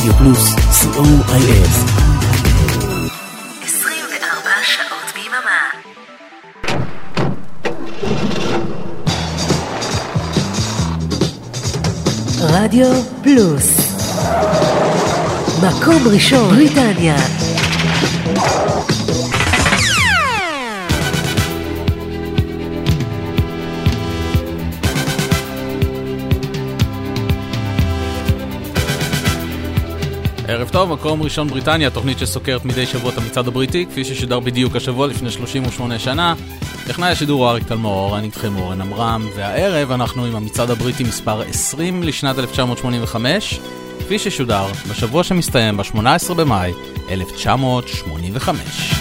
רדיו פלוס, COIF. 24 שעות ביממה. רדיו פלוס, מקום ראשון בריטניה. ערב טוב, מקום ראשון בריטניה, תוכנית שסוקרת מדי שבוע את המצעד הבריטי, כפי ששודר בדיוק השבוע לפני 38 שנה. טכנאי השידור אריק תלמור, אני איתכם אורן אמרם, והערב אנחנו עם המצעד הבריטי מספר 20 לשנת 1985, כפי ששודר בשבוע שמסתיים ב-18 במאי 1985.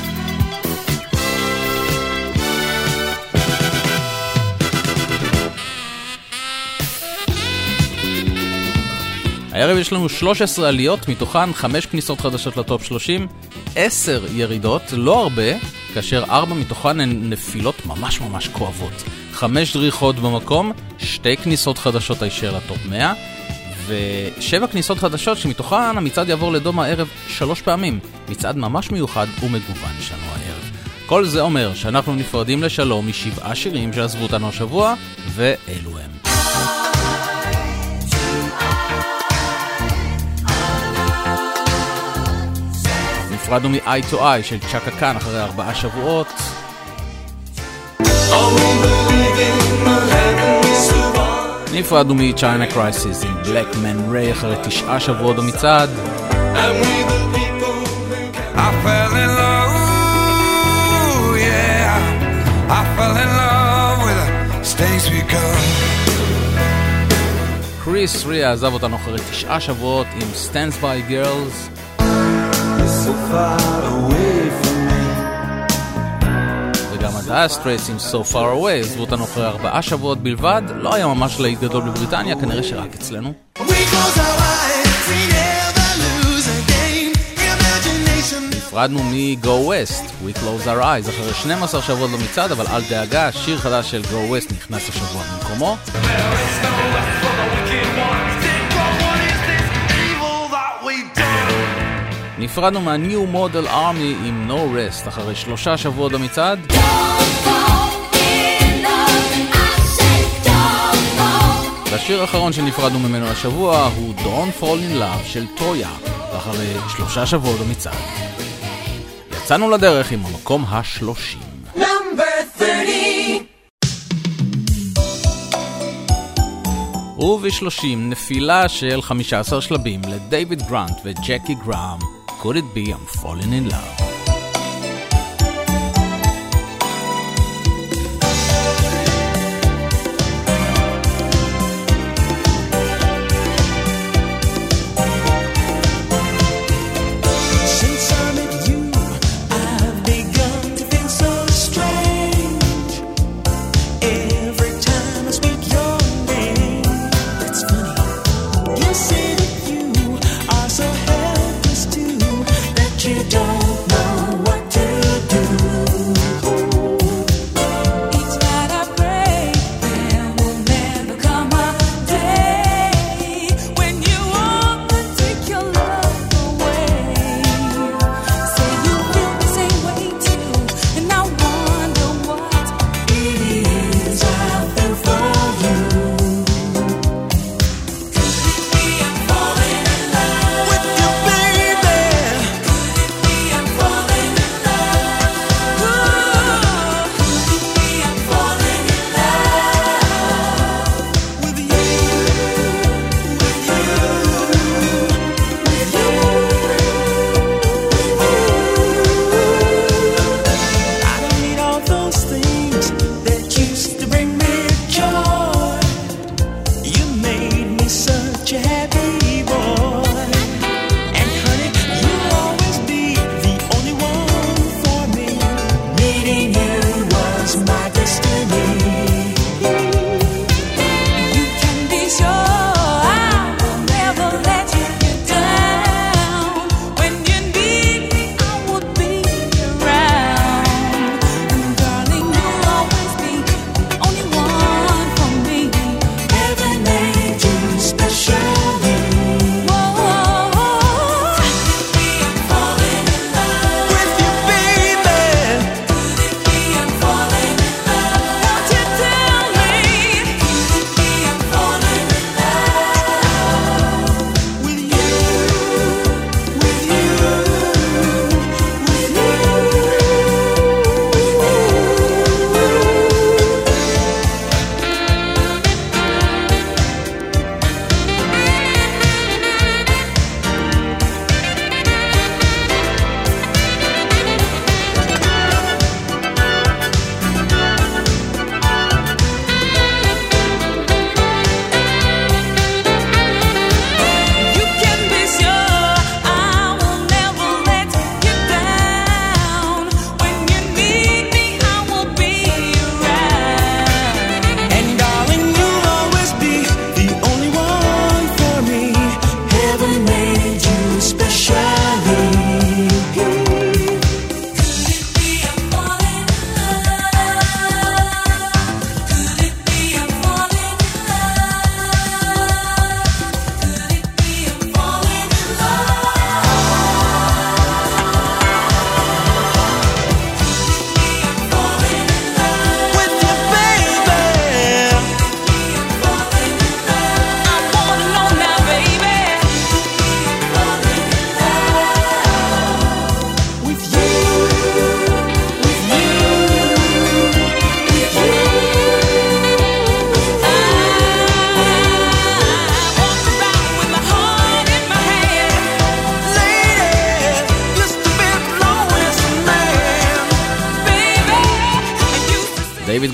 הערב יש לנו 13 עליות, מתוכן 5 כניסות חדשות לטופ 30, 10 ירידות, לא הרבה, כאשר 4 מתוכן הן נפילות ממש ממש כואבות. 5 דריכות במקום, 2 כניסות חדשות הישר לטופ 100, ו7 כניסות חדשות שמתוכן המצעד יעבור לדום הערב 3 פעמים. מצעד ממש מיוחד ומגוון שלנו הערב. כל זה אומר שאנחנו נפרדים לשלום מ7 שירים שעזבו אותנו השבוע, ואלו הם. נפרדנו מ-Eye to Eye של צ'קה קאן אחרי 4 שבועות. נפרדנו מ-China Crisis עם Black Man Ray אחרי 9 שבועות במצעד. קריס ריה עזב אותנו אחרי 9 שבועות עם Stands by Girls. So far away from me. וגם ה-Dire Straits עם So Far Away עזבו אותנו אחרי 4 שבועות בלבד. לא היה ממש להיט גדול בבריטניה, כנראה שרק אצלנו. נפרדנו מ-Go West, We Close Our Eyes אחרי 12 שבועות במצעד, אבל אל דאגה, שיר חדש של Go West נכנס השבוע במקומו. נפרדנו מה-New Model Army עם No Rest אחרי 3 שבועות במצעד. והשיר האחרון שנפרדנו ממנו השבוע הוא Don't Fall in Love של טויה אחרי 3 שבועות במצעד. יצאנו לדרך עם המקום ה-30. וב-30 נפילה של 15 שלבים לדייוויד גרנט וג'קי גראם. Could it be I'm falling in love?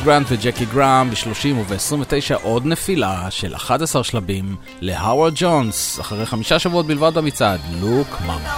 גרנט וג'קי גראם ב-30 וב-29 עוד נפילה של 11 שלבים להווארד ג'ונס אחרי 5 שבועות בלבד במצעד לוק מאמה.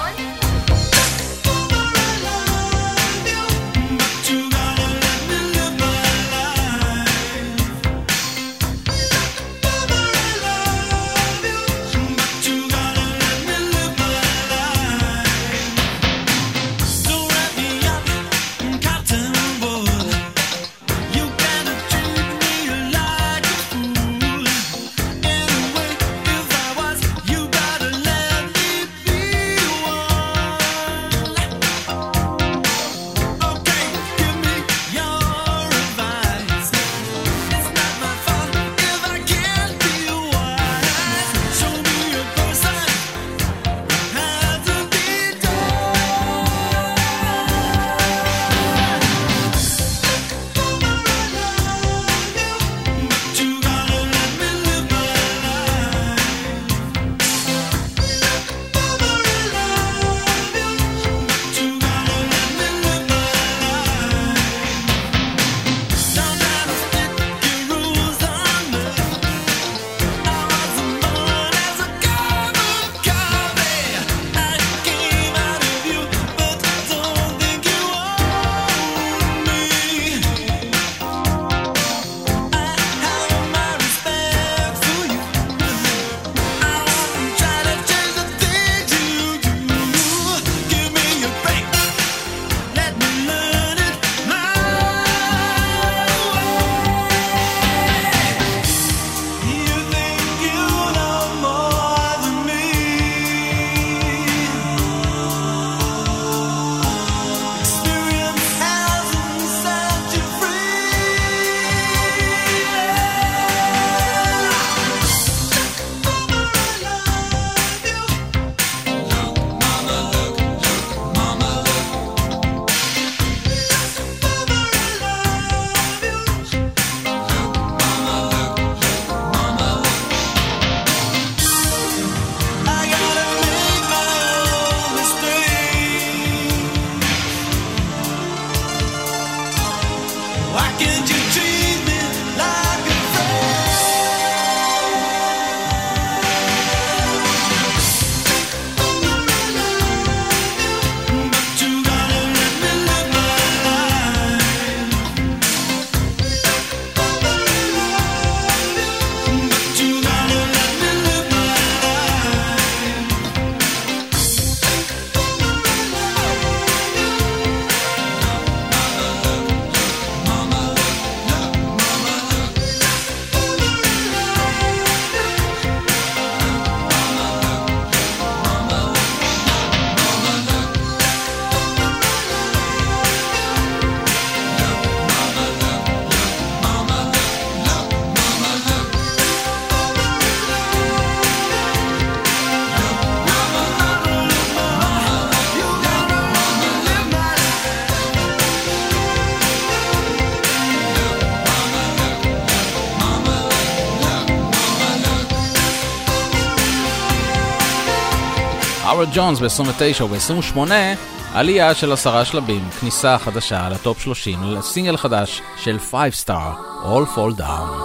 הווארד ג'ונס ב-29 וב-28 עלייה של 10 שלבים, כניסה חדשה לטופ 30 לסינגל חדש של 5 Star, All Fall Down.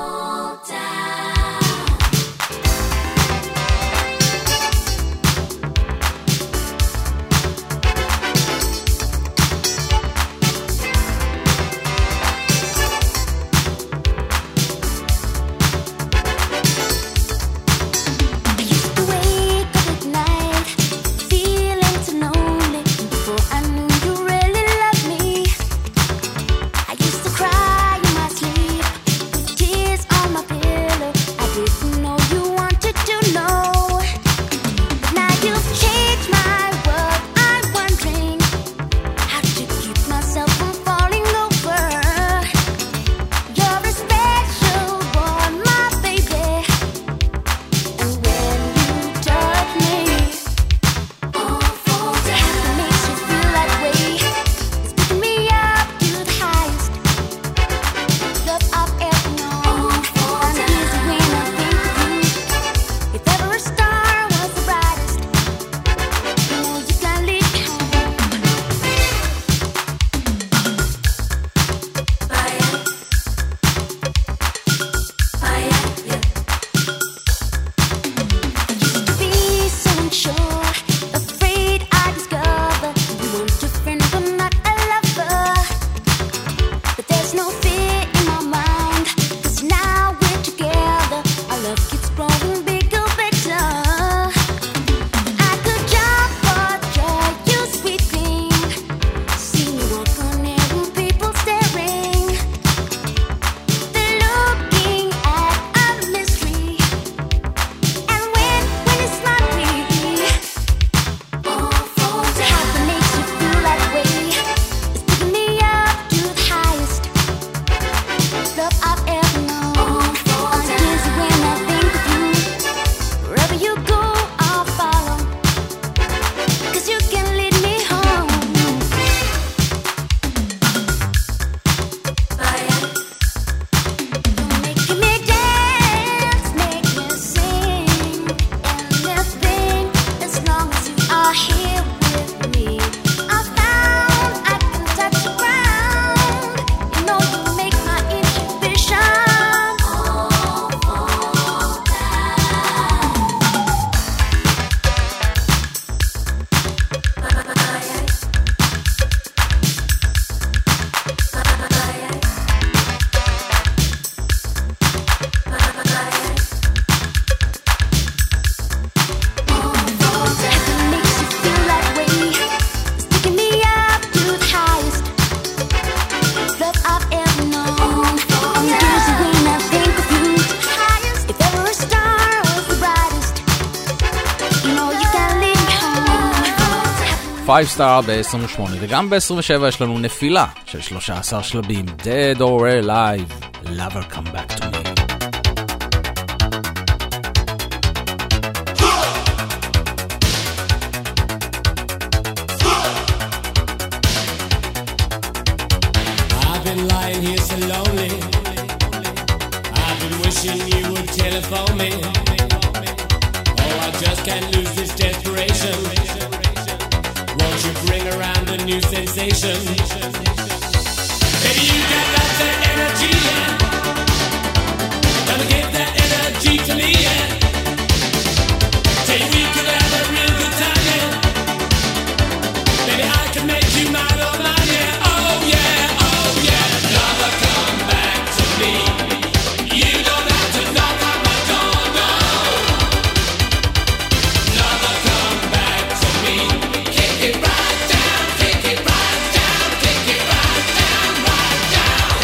Tears 5 star ב-28, וגם ב-27 יש לנו נפילה של 13 שלבים, Dead or Alive, Lover Come Back to Me. I've been lying here so lonely. I've been wishing you would telephone me. Oh, I just can't lose this desperation. Won't you bring around a new sensation? Baby, you got lots of energy, yeah. Gonna give that energy to me, yeah. Say we could have a real good time, yeah. Baby, I can make you mine, oh mine, yeah. Oh yeah, oh yeah. Lover, come back to me. You don't have to knock on my door, no. Lover, come back to me. Kick it right down, kick it right down, kick it right down, right down.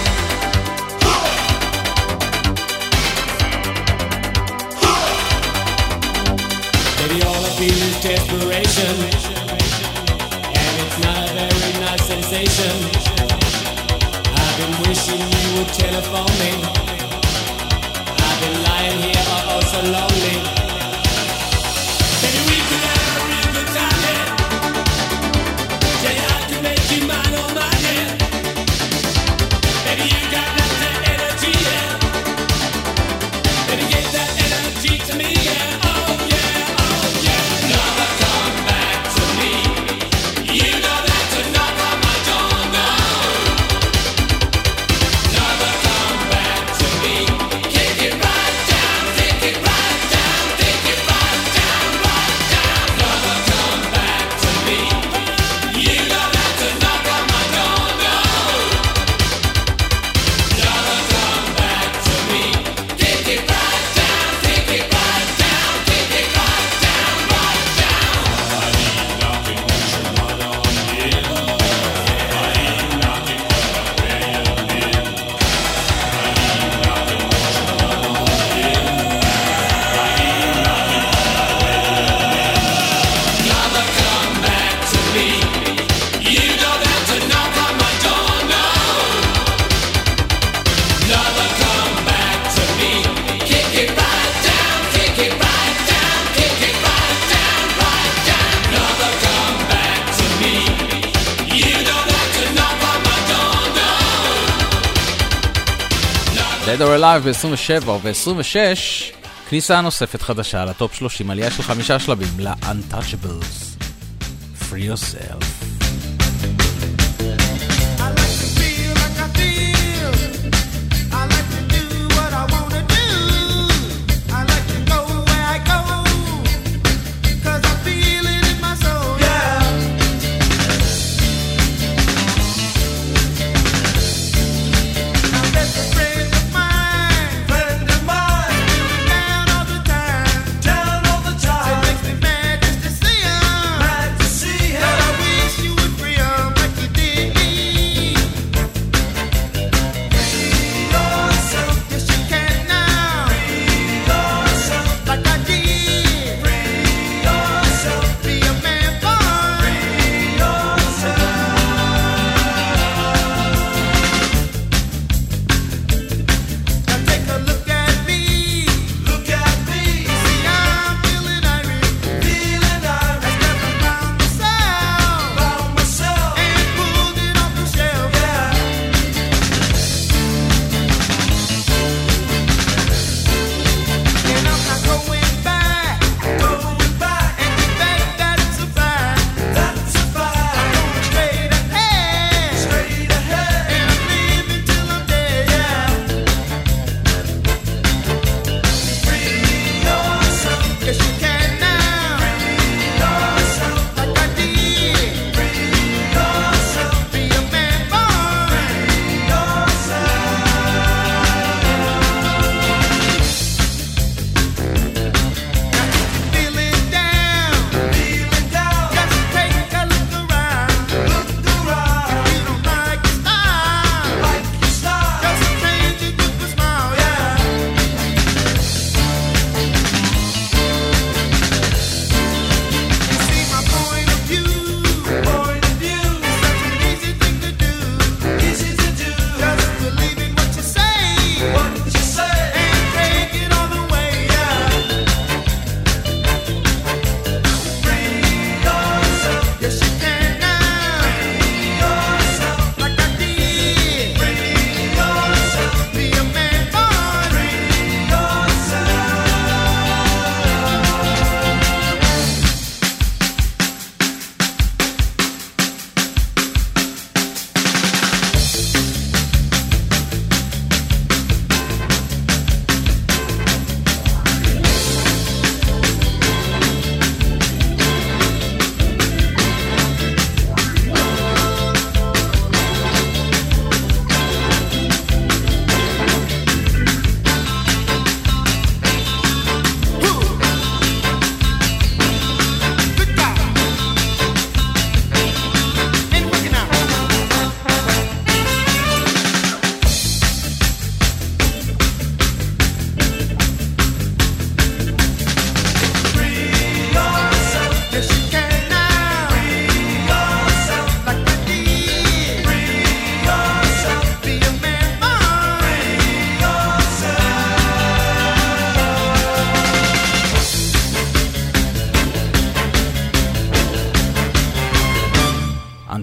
Baby, all I feel is desperation, and it's not a very nice sensation. I've been wishing you would telephone me. I've been lying here oh so lonely. Baby, we could have a real good time, yeah. Yeah, I can make you mine, oh mine, yeah. Baby, you got lots of energy, yeah. Baby, give that energy to me, yeah. Oh yeah, oh yeah. Lover, come back to me. You don't have to knock on my door, no. Lover, come back to me. Kick it right down, kick it right down, kick it right down, right down. Lover, come back to me. You don't have to knock on my door, no. Lover, come back to me. Kick it right down, kick it right down, kick it right down, right down. Lover, come back to me. You don't have to knock on my door, no. Lover, come back to me. Kick it right down, kick it right down, kick it right down, right down. Lover, come back to me. You don't have to knock on my door, no. Dead or Alive ב-27 וב-26, כניסה נוספת חדשה לטופ 30, עלייה של 5 שלבים ל-Untouchables. Free Yourself. I like to feel like I feel. I like to do what I wanna do. I like to go where I go. 'Cause I feel it in my soul. Yeah. Now that's a friend of mine. Friend of mine. Down all the time. Down all the time. It makes me mad just to see him. Mad to see him. But I wish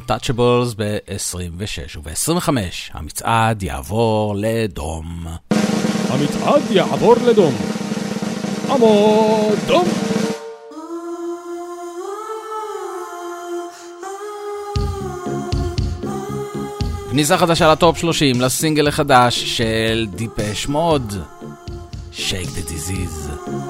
Untouchables ב-26 וב-25 המצעד יעבור לדום. המצעד יעבור לדום. עמוד דום. כניסה חדשה לטופ 30 לסינגל החדש של דיפש מוד, Shake the Disease.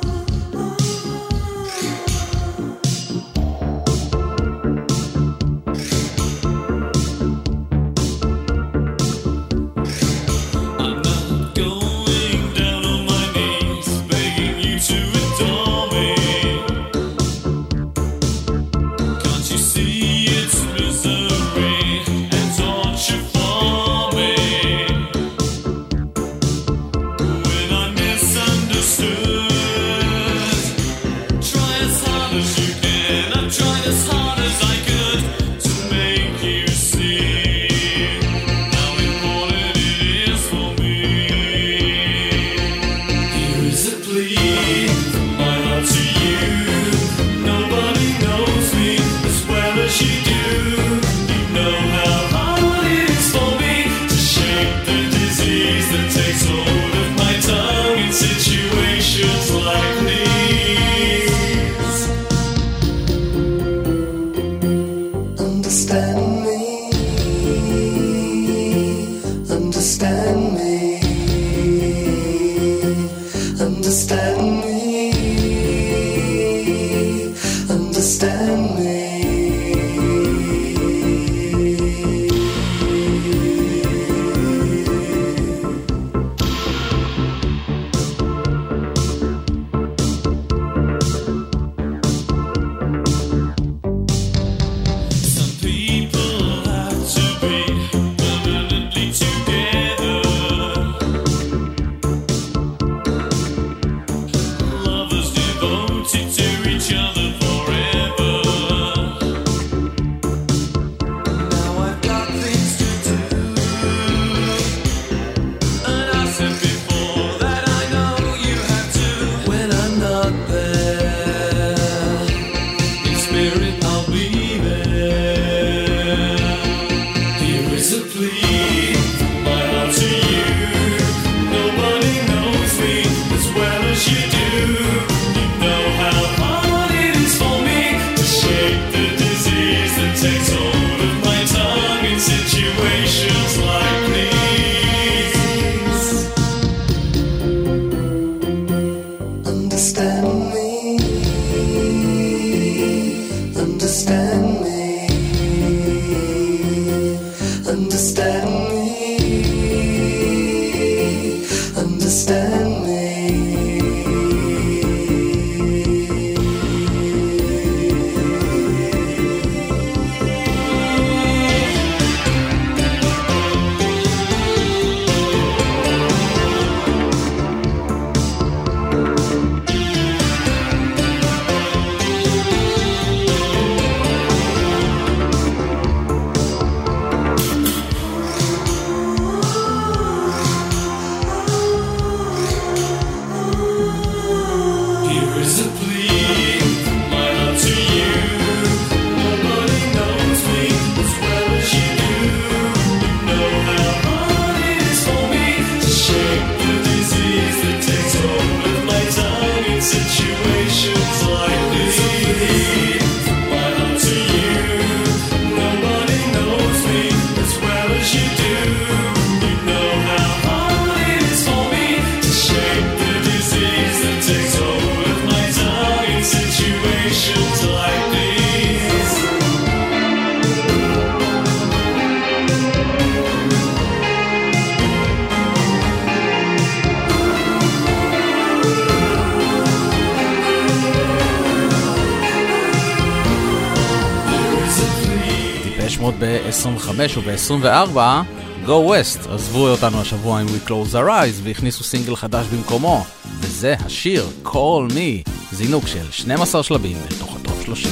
ב-25 וב-24 Go West עזבו אותנו השבוע עם We Close Our Eyes והכניסו סינגל חדש במקומו, וזה השיר Call Me, זינוק של 12 שלבים לתוך הטופ 30.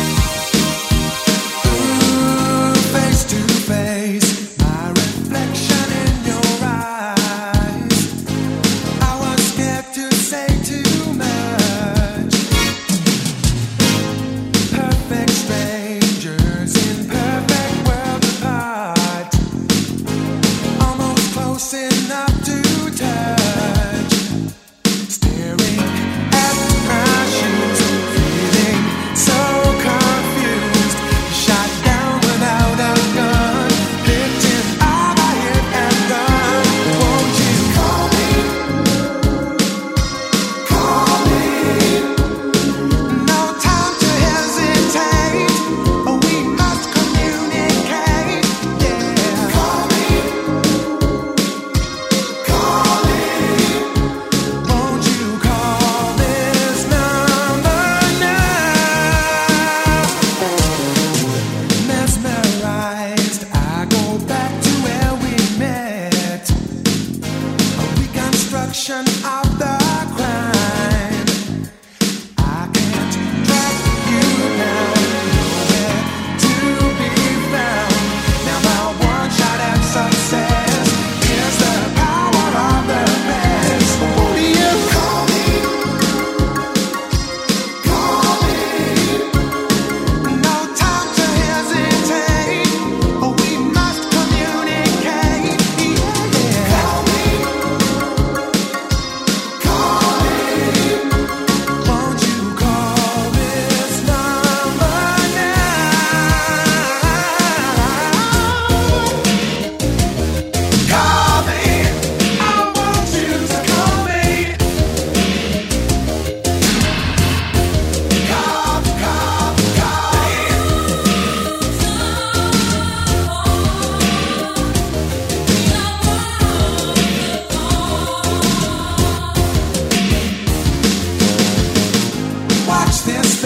Face to face, my reflection.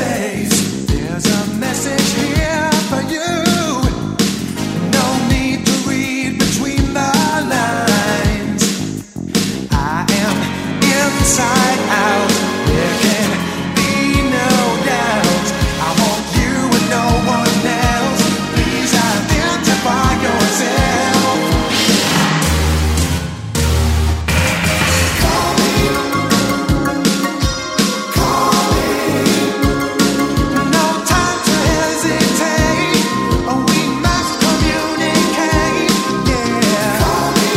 face. There's a message here for you. No need to read between the lines. I am inside out. There can be no doubt. I want you and no one else. Please identify yourself. Call me. Call me. No time to hesitate. We must communicate. Yeah. Call me.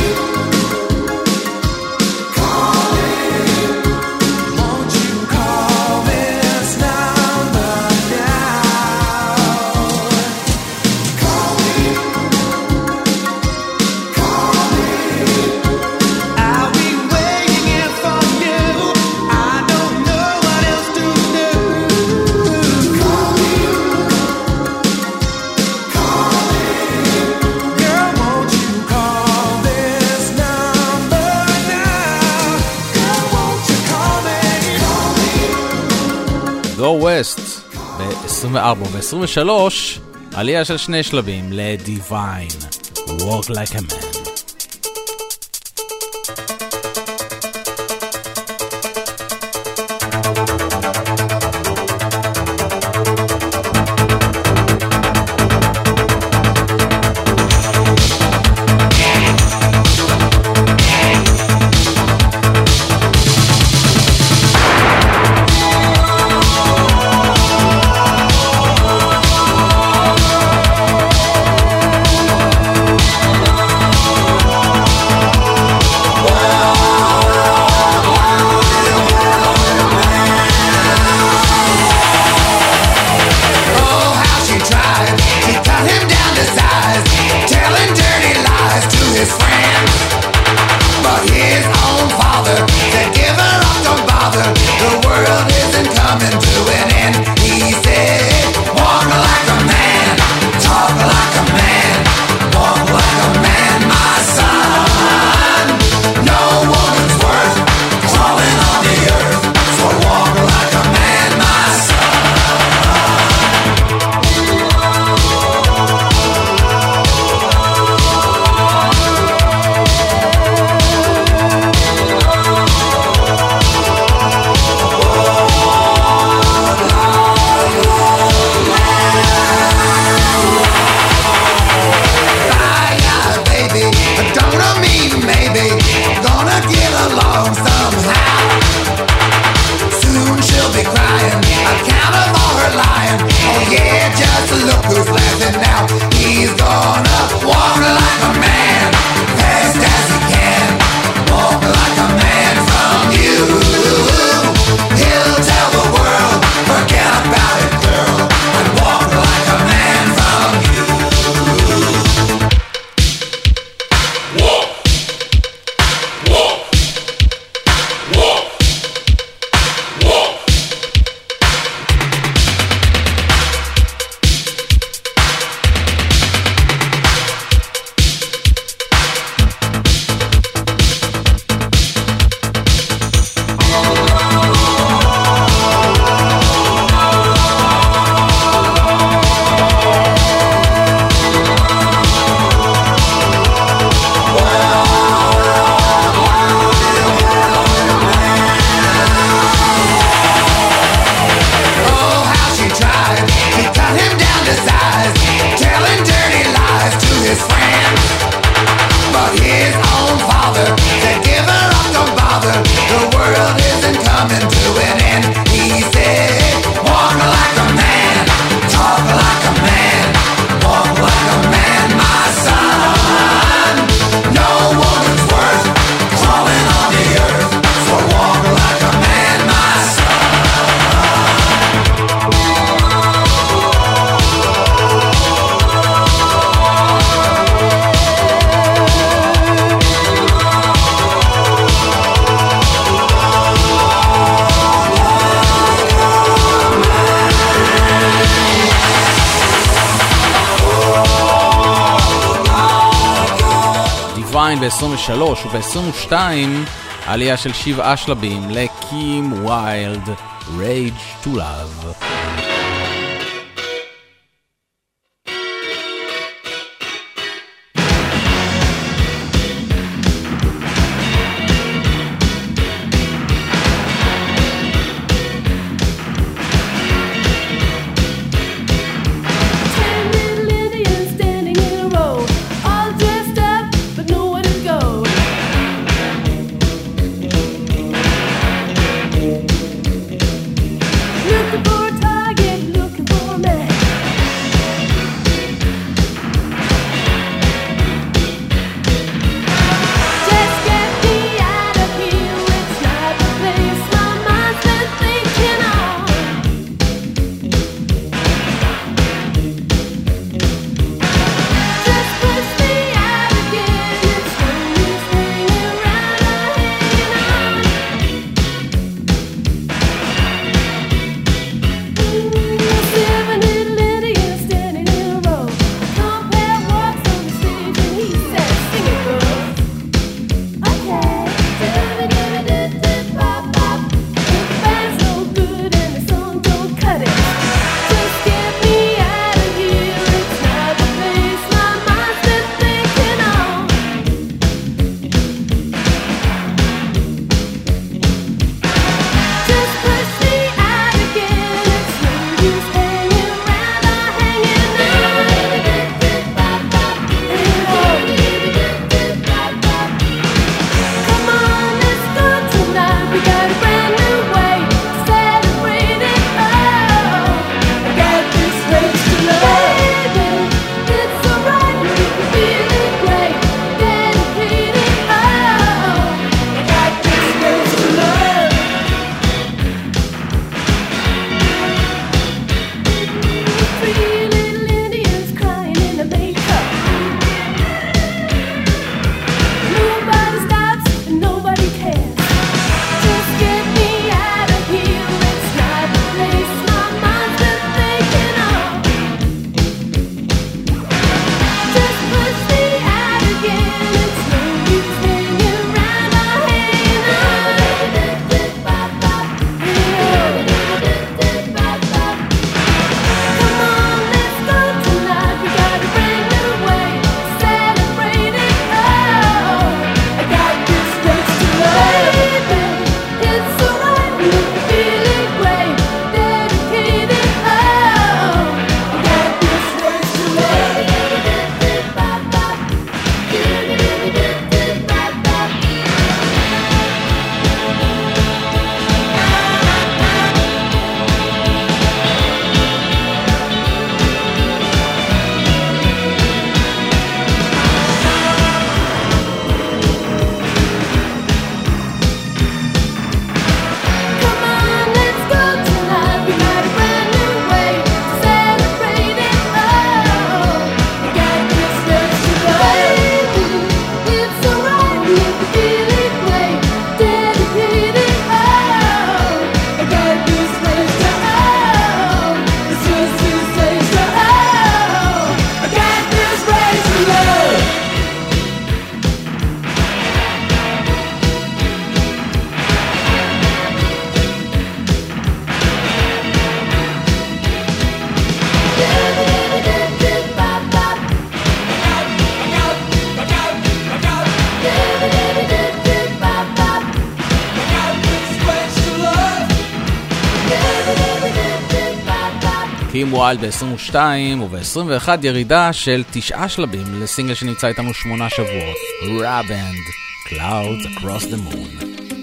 Call me. Won't you call this number now? Call me. Call me. I'll be waiting here for you. I don't know what else to do. Call me. Call me. Girl, won't you call this number now? Girl, won't you call me? Call me. Go West ב-24 ו-23 עלייה של 2 שלבים ל-Divine Walk Like a Man. Oh, how she tried to cut him down to size, telling dirty lies to his friends. But his own father said, give her up, don't bother. The world isn't coming to an end. He said, walk like a man, talk like a man, walk like a man, my son. No woman's worth crawling on the earth, so walk like a man, my son. Bye, baby, don't mean maybe, gonna get along somehow. Soon she'll be crying, account of all her lying. Oh yeah, just look who's laughing now. He's gonna walk like a man, fast as he can. Walk like a man from you. He'll tell the world, forget about it, girl, and walk like a man from you. Walk, walk, walk, walk. Oh, how she tried to cut him down to size, telling dirty lies to his friends. But his own father said, give her up, don't bother. The world isn't coming to an end. He said, walk like a man, talk like a man, walk like a man, my son. No woman's worth crawling on the earth, so walk like a man, my son. Divine ב-23 וב-22 עלייה של 7 שלבים לקים ויילד Rage to Love. קים ווילד ב-22 וב-21 ירידה של 9 שלבים לסינגל שנמצא איתנו 8 שבועות. Raband, Clouds Across the Moon.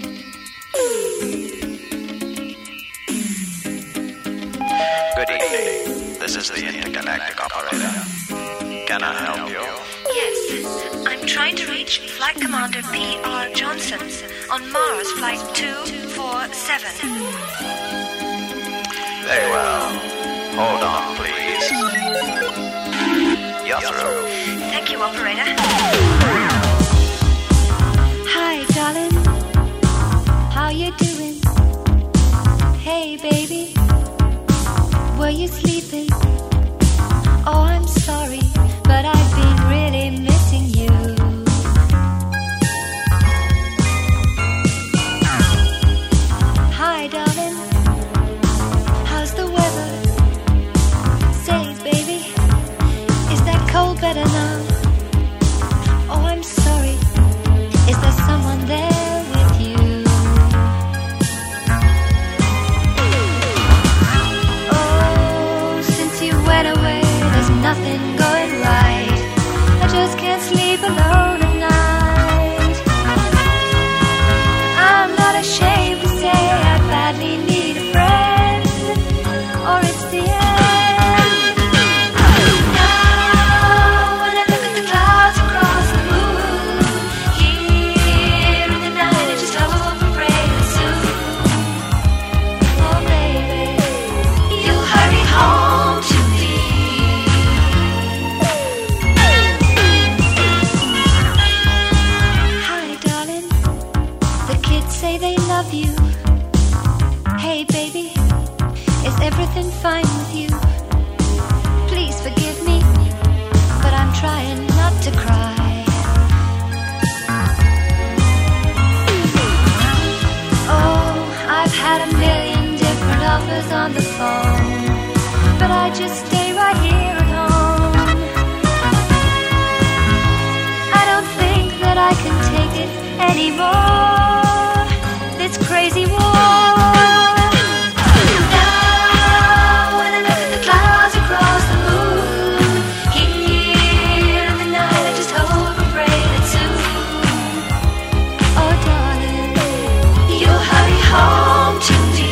Good evening. This is the intergalactic operator. Can I help you? Yes, I'm trying to reach Flight Commander P.R. Johnson on Mars Flight 247. Very well. Hold on, please. You're through. Thank you, operator. Hi, darling. How you doing? Hey, baby. Were you sleeping? Oh, I'm sorry, but I've been really missing you. Hi, darling. Is everything fine with you? Please forgive me, but I'm trying not to cry. Oh, I've had a million different offers on the phone, but I just stay right here at home. I don't think that I can take it anymore, this crazy war. Now when I look at the clouds across the moon, here in the night I just hope and pray that soon, oh darling, you'll hurry home to me.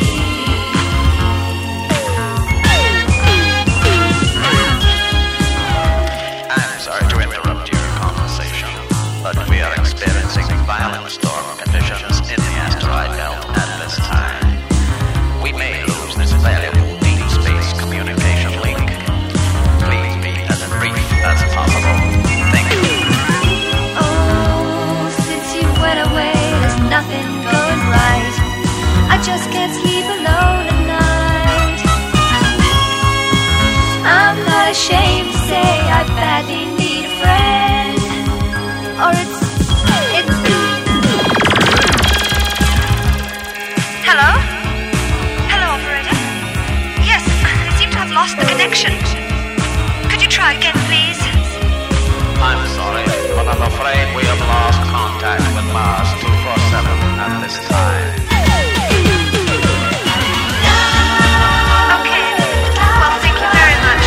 I'm sorry to interrupt your conversation, but we are experiencing violent storm conditions in the asteroid belt at this time. We may lose this valuable deep space communication link. Please be as brief as possible. Thank you. Oh, since you went away, there's nothing going right. I just can't sleep alone at night. I'm not ashamed to say I badly need a friend, or it's Hello? Hello, operator? Yes, I seem to have lost the connection. Could you try again, please? I'm sorry, but I'm afraid we have lost contact with Mars 247 at this time. Okay, well, thank you very much.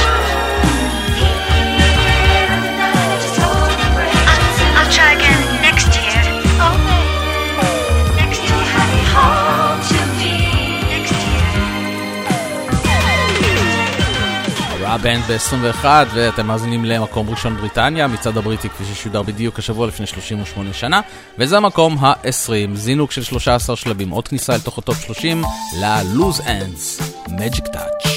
I'll try again next year. Oh, baby, next year. Hurry home to me. Next year. הבנד ב-21, ואתם מאזינים למקום ראשון בריטניה, מצד הבריטי כפי ששודר בדיוק השבוע לפני 38 שנה, וזה המקום ה-20, זינוק של 13 שלבים, עוד כניסה אל תוך הטופ 30, ל-Loose Ends, Magic Touch.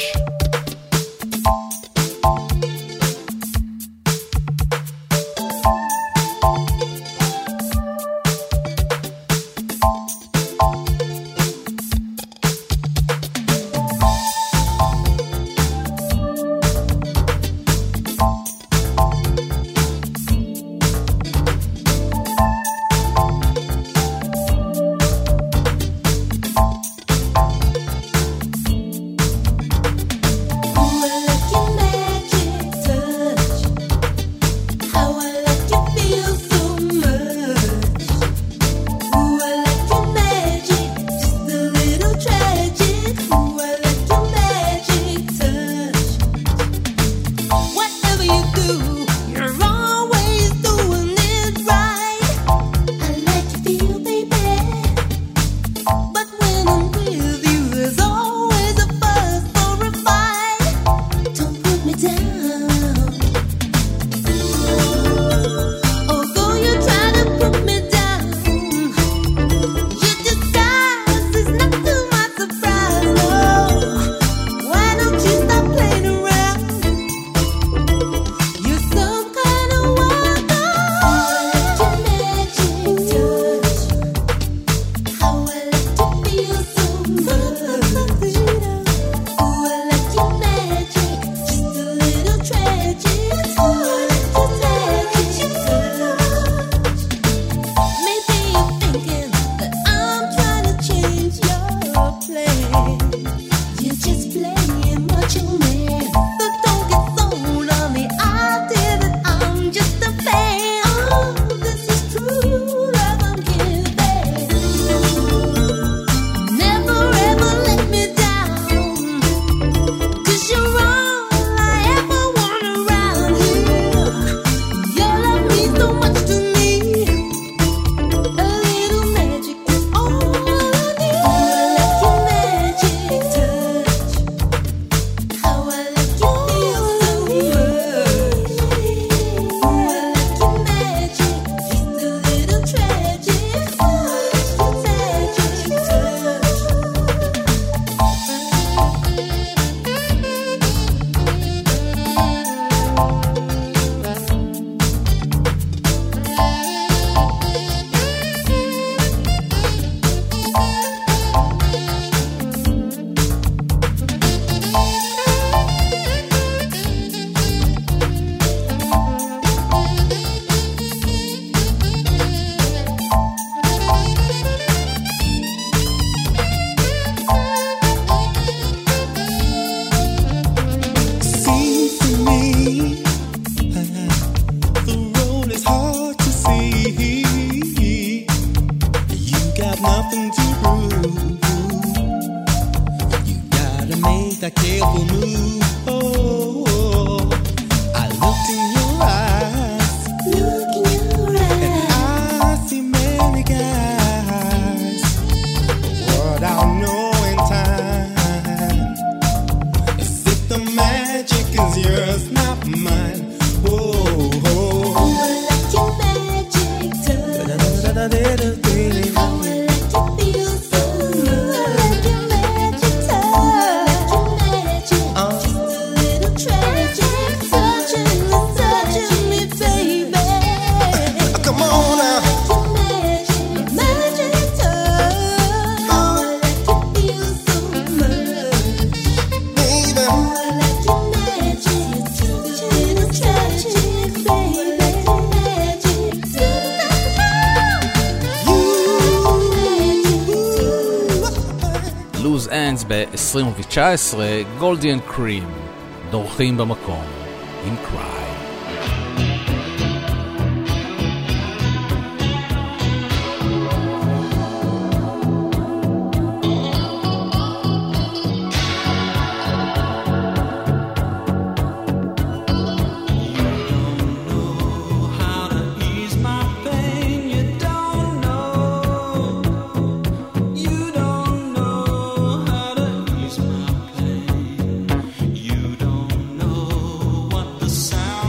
need a careful move. Oh, I looked in your eyes. Look in your eyes. And I see many guys. What I'll know in time. As if the magic is yours, not mine. Oh, oh. Let your magic touch. ב-2019, גולדיאן קרים, דורכים במקום, עם קריי. Sound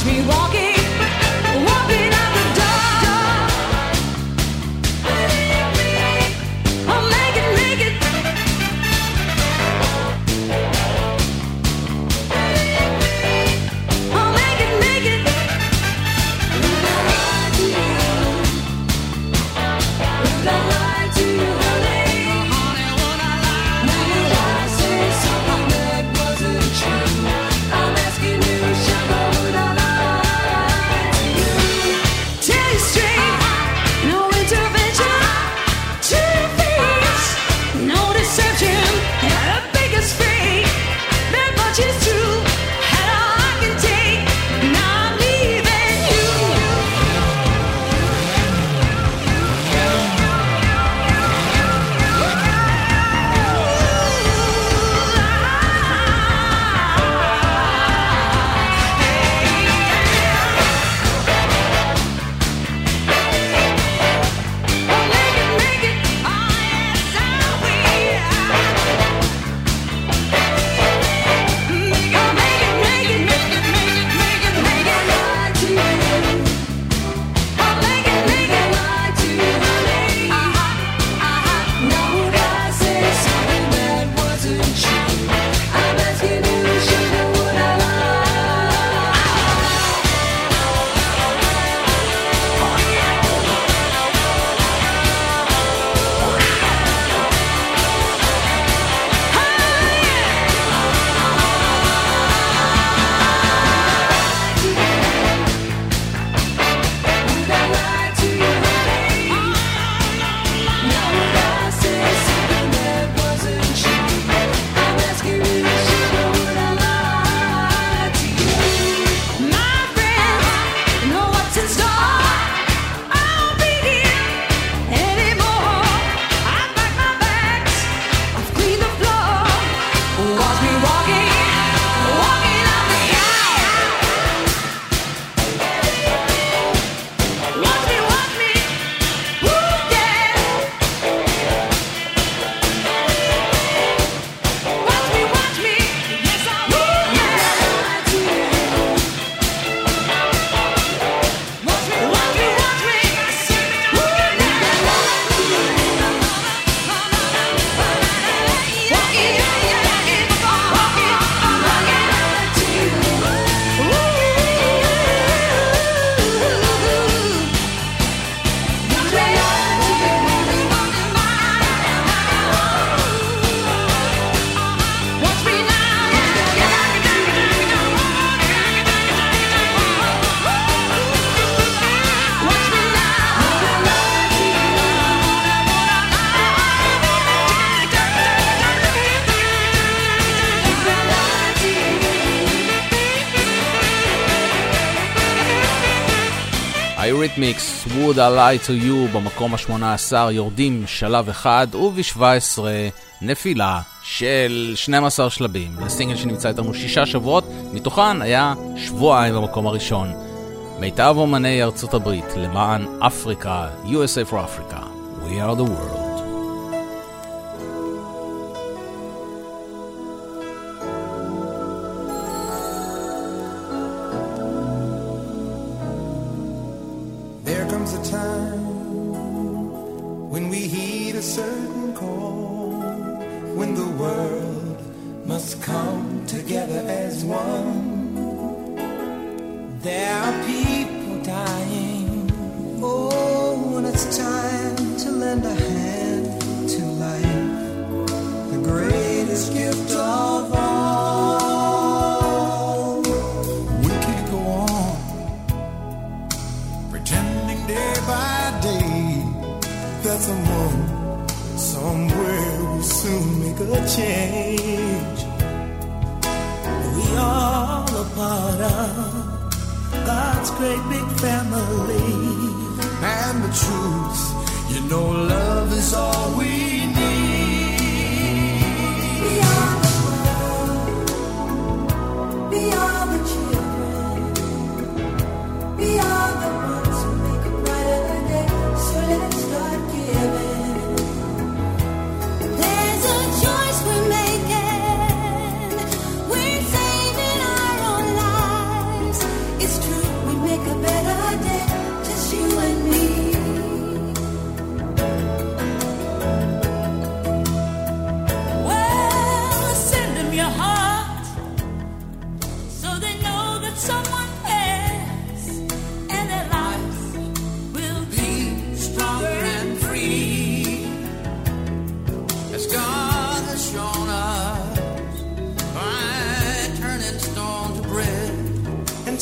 me walking, walking out the door. Oh, make it, make it. Oh, make it, make it. Would I lie to you? Would I lie to you, honey? Honey, would I lie? Would I say something that wasn't true? I'm asking you, sugar, would I lie to you? Tell you straight, no intervention, to your face, no deception, the biggest fake, that much is true, and all I can take, now I'm leaving you. Eurythmics, Would I Lie to You, במקום ה-18 יורדים שלב אחד, וב-17 נפילה של 12 שלבים. לסינגל שנמצא איתנו 6 שבועות, מתוכן היה שבועיים במקום הראשון. מיטב אומני ארצות הברית למען אפריקה, USA for Africa, We are the world. There comes a time when we heed a certain call, when the world must come together as one. There are people dying. Oh, when it's time to lend a hand to life, the greatest gift of all. We can't go on pretending day by day that someone somewhere will soon make a change. We all a part of God's great big family. And the truth, you know, love is all we need. We are the world. We are the children. We are the ones who make a brighter day. So let's start giving. There's a choice we're making. We're saving our own lives. It's true.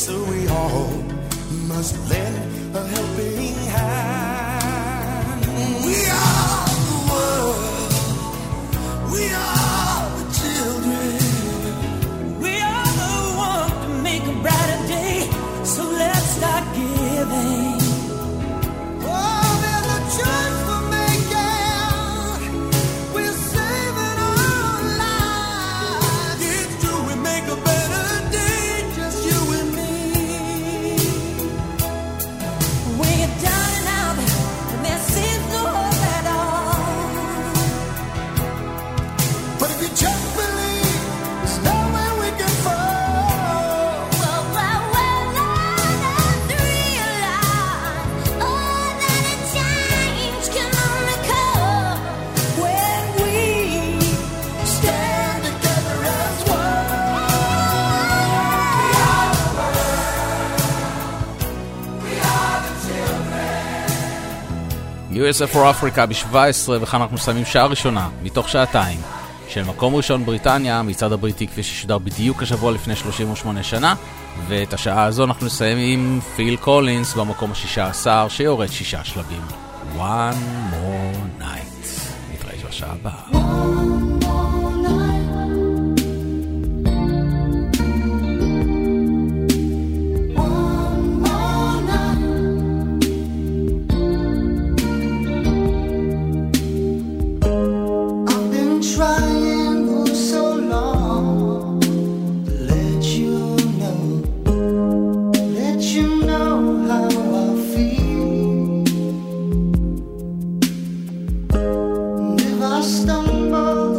so we all must lend a helping hand. We are the world, we are the children, we are the ones to make a brighter day, so let's start giving. Oh, there's a choice for making, we're saving our lives. It's true, we make a better day, just you and me. When you're down and out, and there seems no hope at all. But if you just believe, there's nowhere we can fall. Well, let's realize, oh, that a change can only come when we stand together as one. We are the world, we are the children. USA for Africa ב-17, וכאן אנחנו מסיימים שעה ראשונה מתוך שעתיים של מקום ראשון בריטניה, מצעד הבריטי כפי ששודר בדיוק השבוע לפני 38 שנה, ואת השעה הזו אנחנו נסיים עם פיל קולינס במקום ה-16 שיורד 6 שלבים. One more night. נתראה בשעה הבאה. I've been trying for so long to let you know how I feel. And if I stumble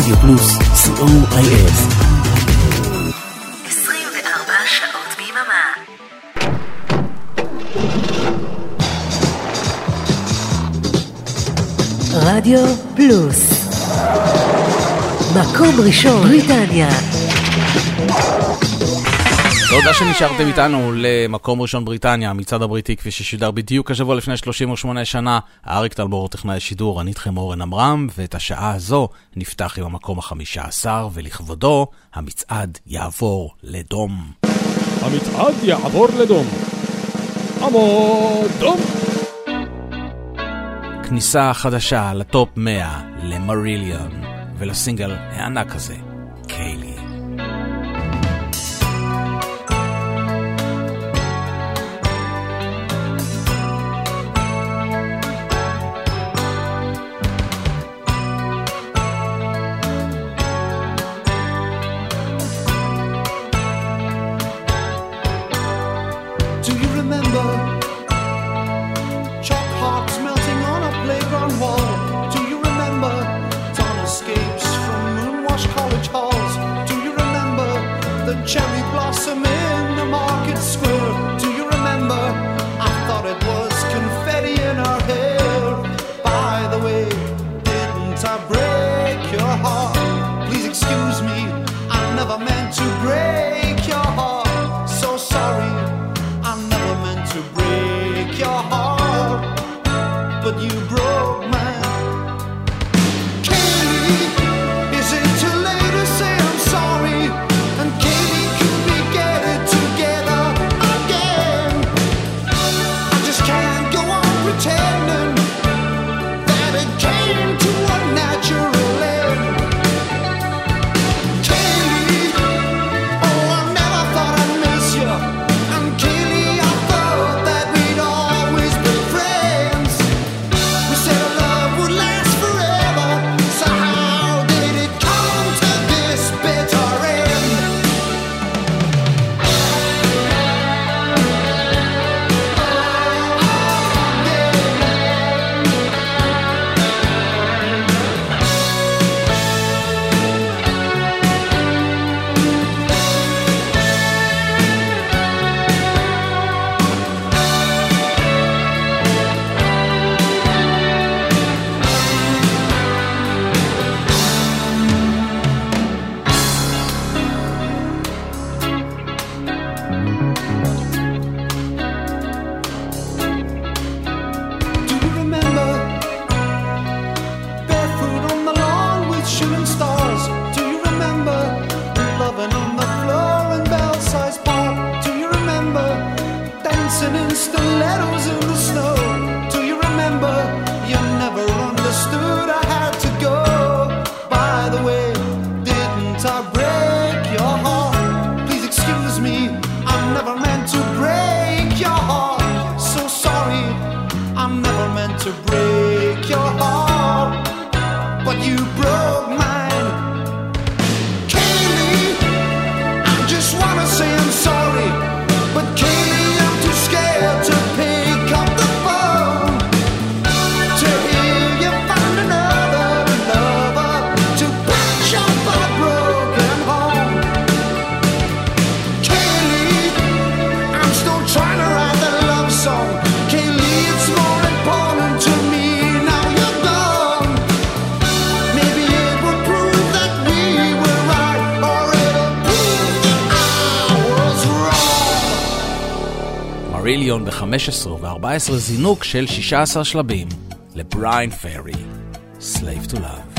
רדיו פלוס, co.il. 24 שעות ביממה. רדיו פלוס. מקום ראשון, בריטניה. תודה שנשארתם איתנו למקום ראשון בריטניה, המצעד הבריטי כפי ששודר בדיוק השבוע לפני 38 שנה. אריק טלמור טכנאי השידור, אני איתכם אורן עמרם, ואת השעה הזו נפתח עם המקום ה-15, ולכבודו המצעד יעבור לדום. המצעד יעבור לדום. עמוד דום. כניסה חדשה לטופ 100 למריליון, ולסינגל הענק הזה, קיילי. Cherry blossom in the market square. Do you remember? I thought it was confetti in our hair. By the way, didn't I break your heart? Please excuse me, I never meant to break your heart. So sorry, I never meant to break your heart. But you broke mine. Kaylee, is it too late to say I'm sorry? And Kaylee, pretending that it came to a natural end. Kaylee, oh, I never thought I'd miss you. And Kaylee, I thought that we'd always be friends. We said our love would last forever, so how did it come to this bitter end? מריליון ב-15 ו-14 זינוק של 16 שלבים לבריין פרי, Slave to Love.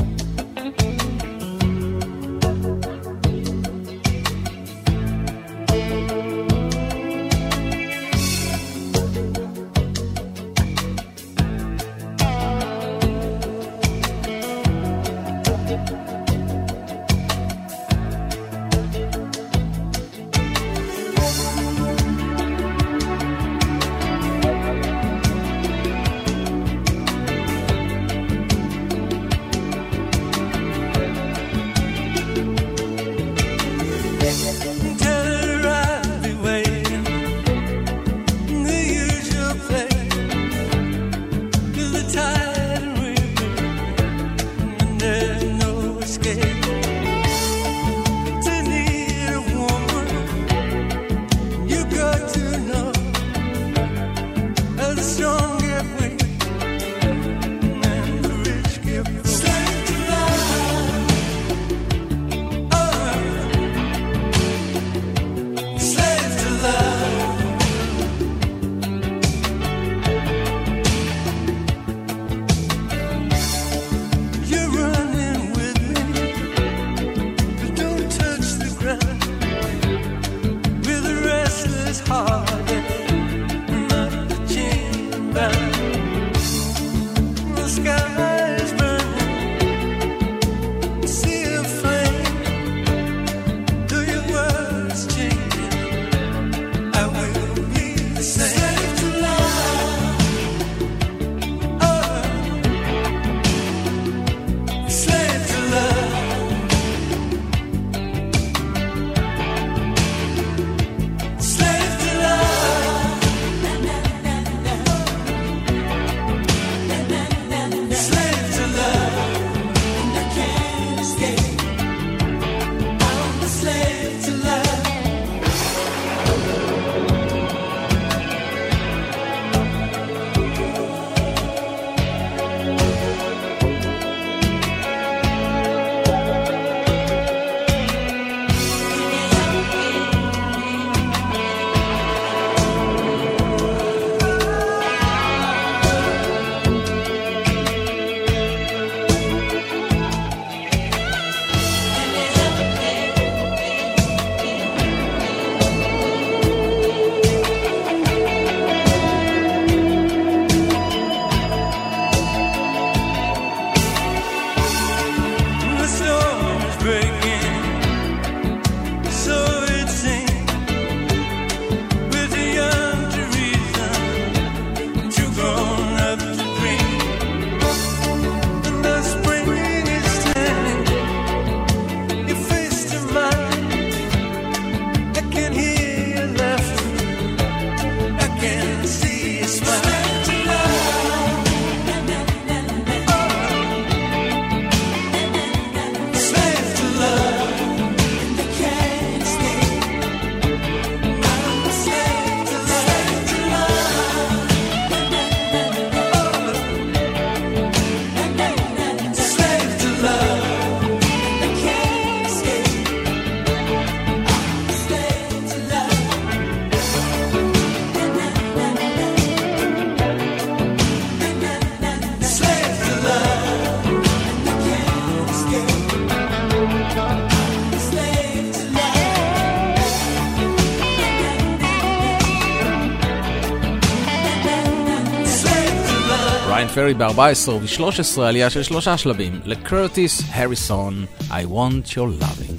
בריין פרי ב-14 ו-13 עלייה של 3 שלבים לקרטיס הריסון, I want your loving.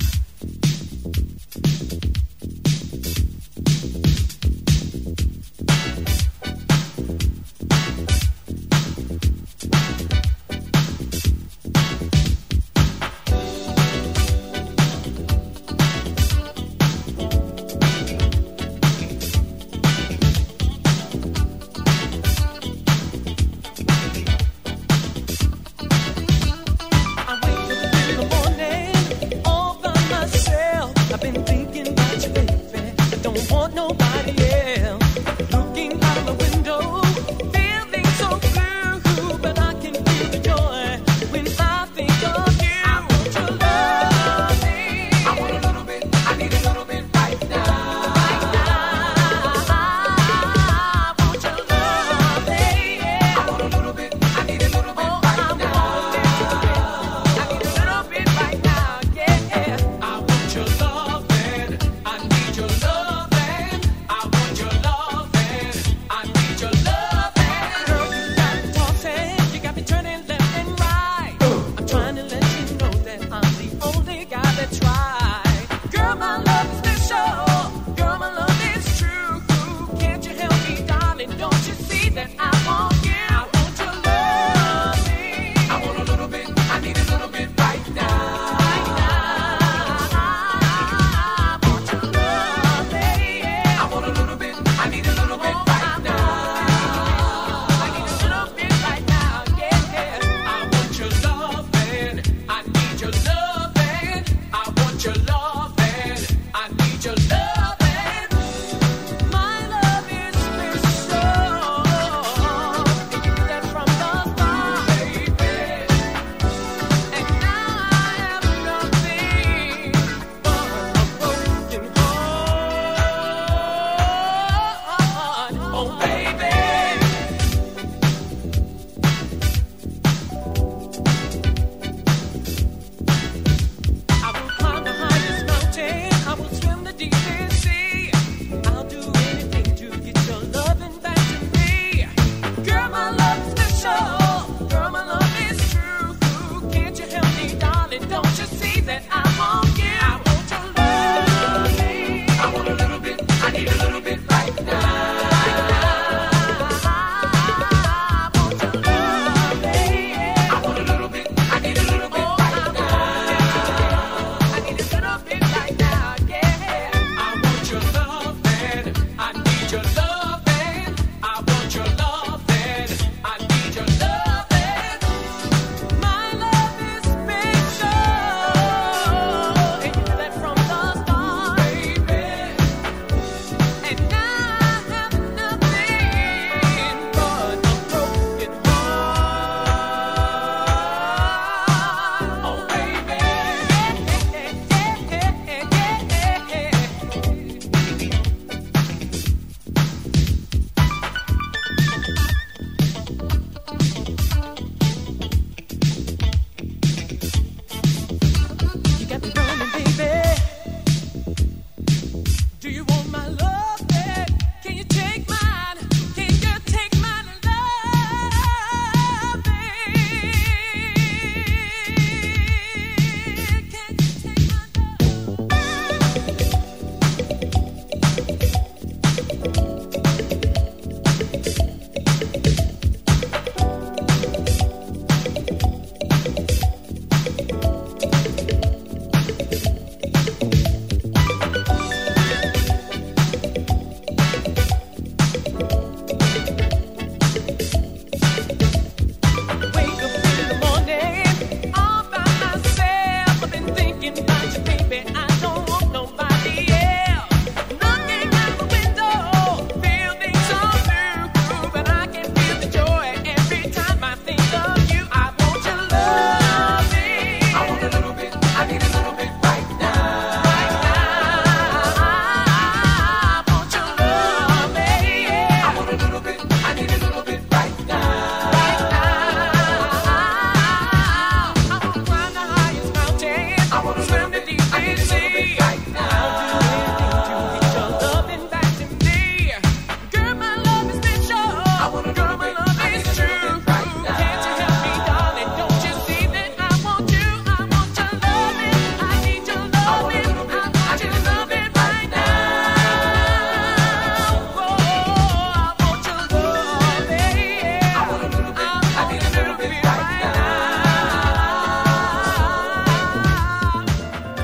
I wake up in the morning, all by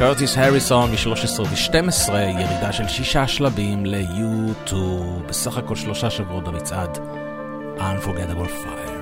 קרטיס הריסון מ-13 ו-12, ירידה של 6 שלבים ליוטיוב, בסך הכל 3 שבועות במצעד Unforgettable Fire.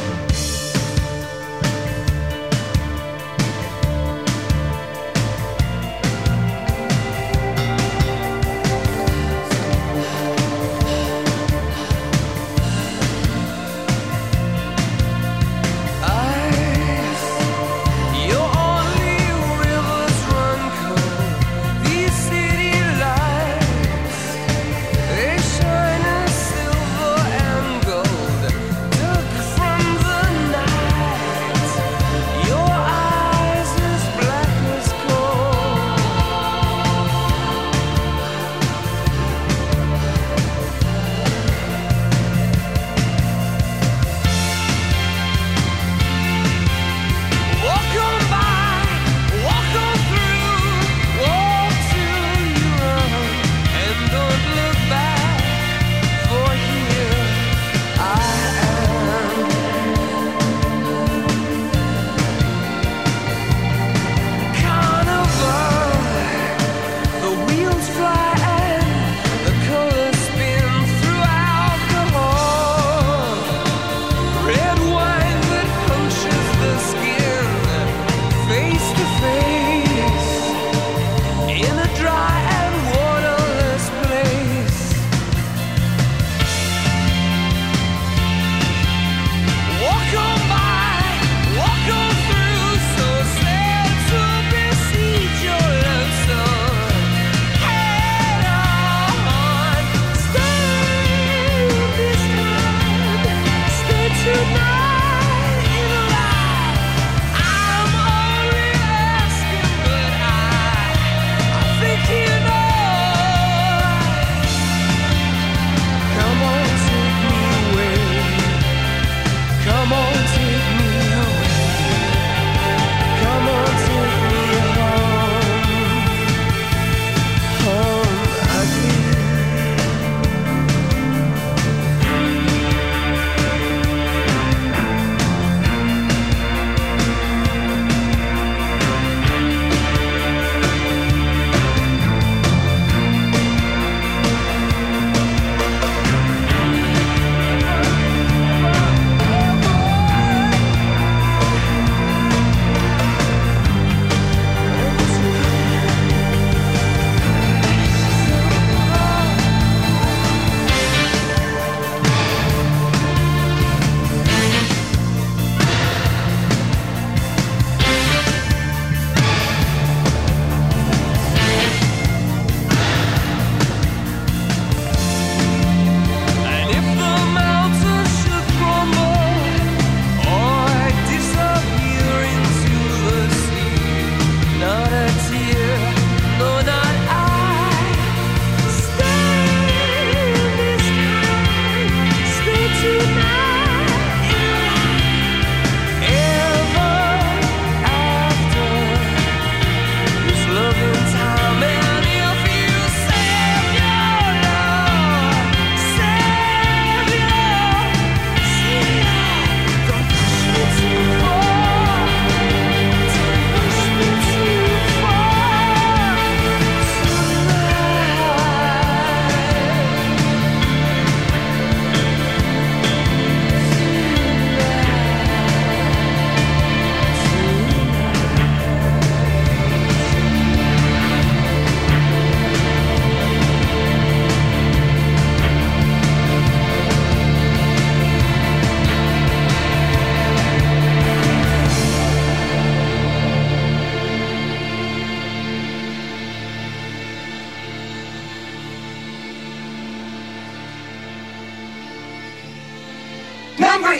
Number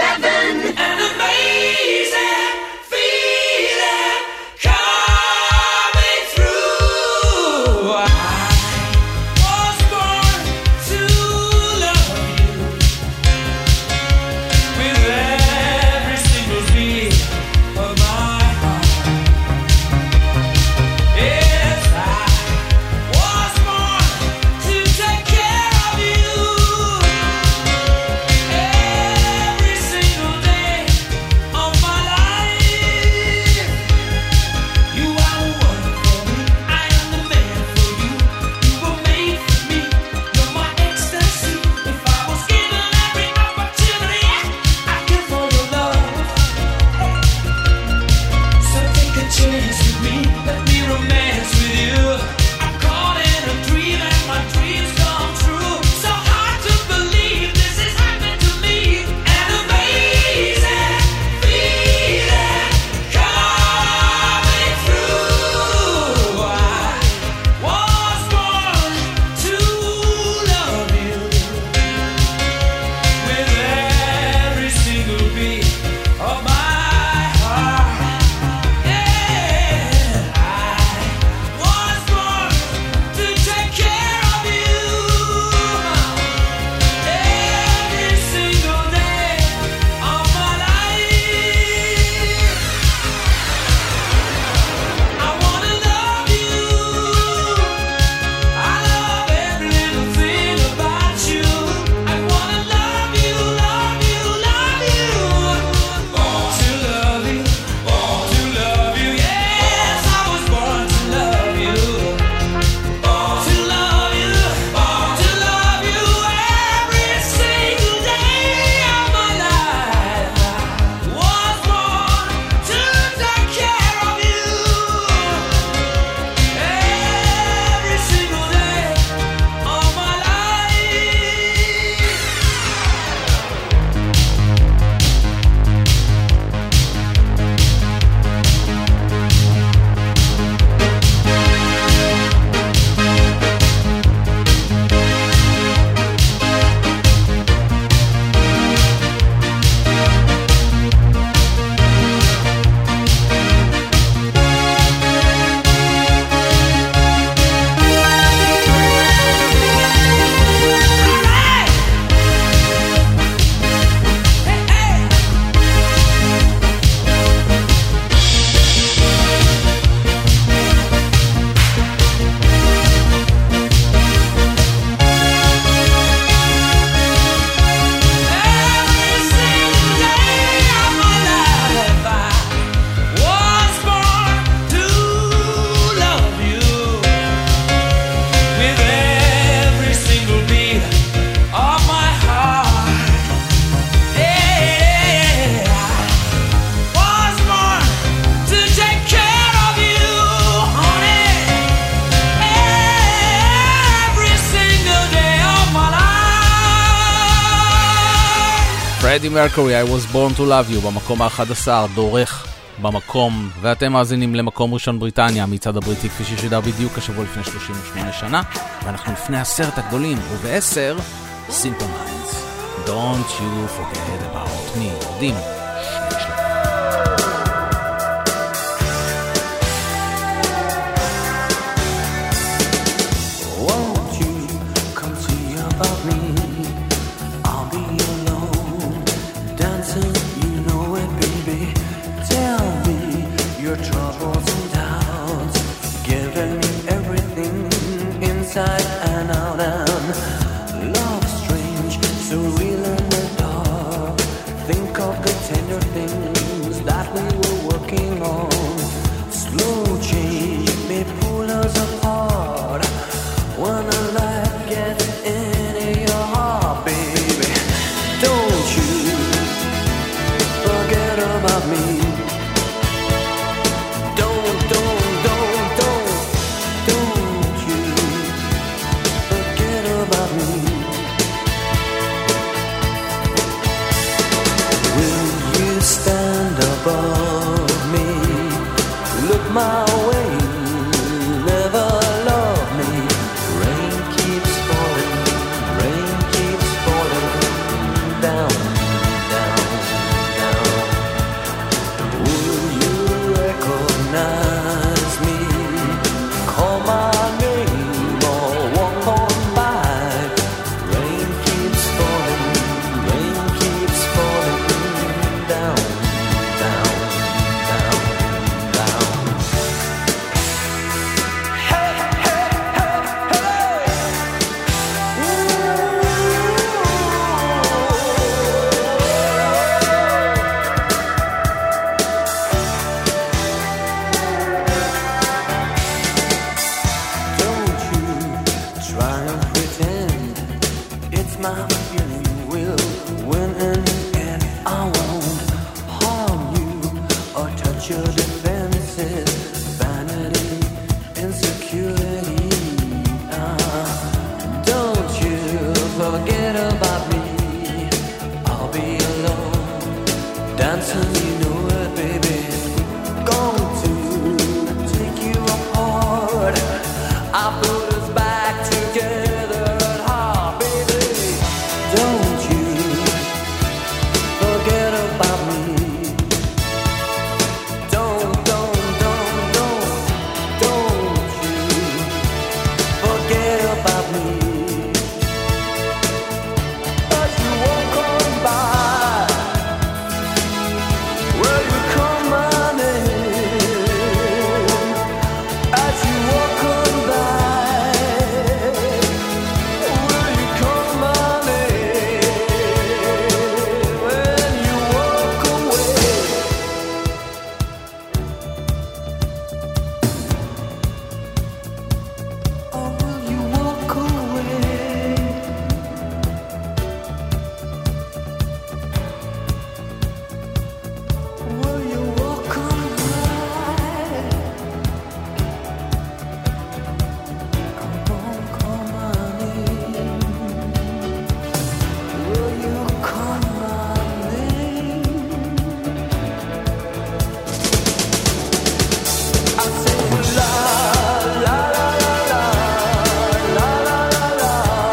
11, an amazing feeling coming through. I was born to love you with every single beat of my heart. Yes, I was born to take care of you. Every single day of my life. פרדי מרקורי, I was born to love you, במקום ה-11, דורך במקום, ואתם מאזינים למקום ראשון בריטניה, מצד הבריטי כפי ששודר בדיוק השבוע לפני 38 שנה, ואנחנו לפני 10 הגדולים, וב-10, Simple Minds, Don't you forget about me, יודעים, Won't you come see about me? I'll be alone, dancing, you know it, baby. Tell me your troubles and doubts, giving me everything inside and out. And love strange, so real in the dark. Think of the tender things that we were working on. Slow change may pull us apart. When the light gets into your heart, baby, don't you forget about me. Don't you forget about me. Will you stand above me? Look my way, never love me. Rain keeps falling down, down, down. Will you recognize me? Call my name or walk on by. Rain keeps falling down, down, down, down. Hey, hey, hey, hey. Don't you try and pretend it's my feeling will win in the end. I won't harm you or touch your defenses, vanity, insecurity. Don't you forget about me. I'll be alone, dancing, you know it, baby. Going to take you apart. I put us back together at heart, baby. Don't you forget about me. Don't you forget about me. As you walk on by, will you call my name? As you walk on by, will you call my name? When you walk away. Oh, will you walk away? Will you walk on by? Come on, call my name. Will you call my name? I say la la la la la la la la la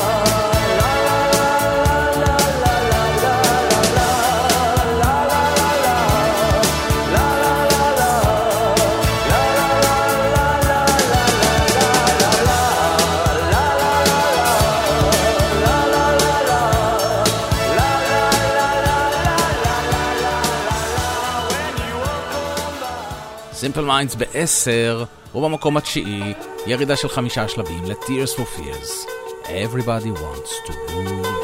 Simple Minds ב-10, ובמקום התשיעי, ירידה של 5 שלבים ל-Tears for Fears. Everybody wants to rule the world.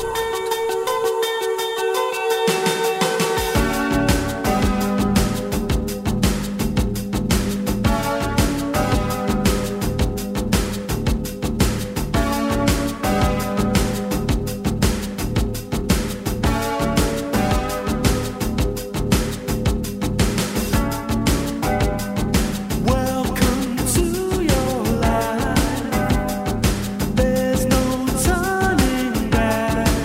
Welcome to your life. There's no turning back.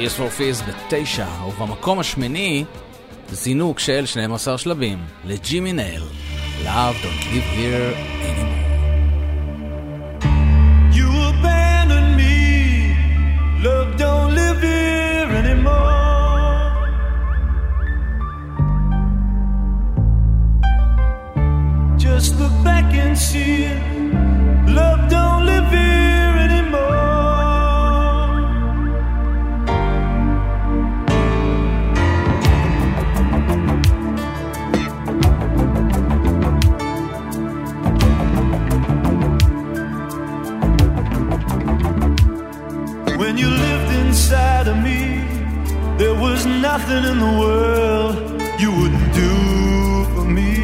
Tears for Fears ב-9, ובמקום השמיני זינוק של 12 שלבים לג'ימי נייל, Love Don't Live Here Anymore. You abandoned me, love don't live here anymore. Just look back and see it, love don't live here anymore. When you lived inside of me, there was nothing in the world you wouldn't do for me.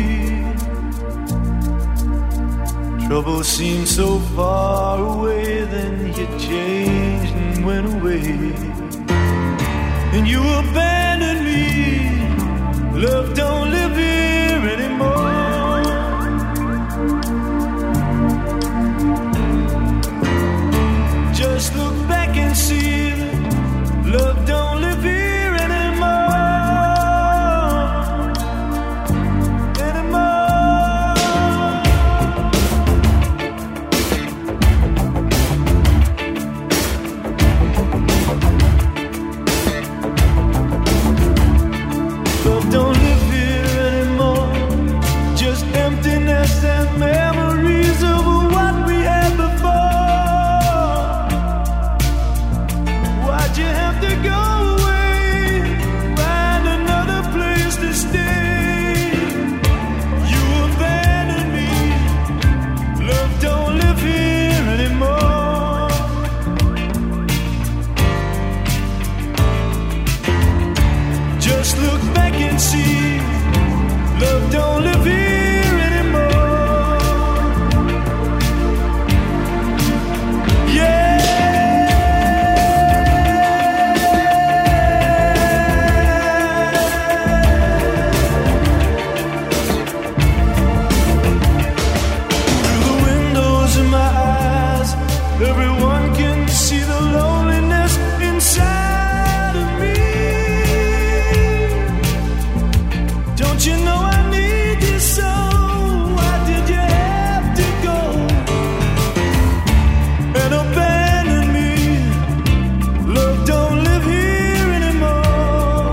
Trouble seemed so far away, then you changed and went away. And you abandoned me, love don't live here anymore. Just look back and see that love don't live here anymore. Love don't live here anymore. Just emptiness and memories of what we had before. Why'd you have to go away? Find another place to stay. You abandoned me. Love don't live here anymore. Just look back and see, love don't live here anymore. Yeah. Through the windows in my eyes, everyone can see the loneliness inside of me. Don't you know I need you so? Why did you have to go and abandon me? Love don't live here anymore.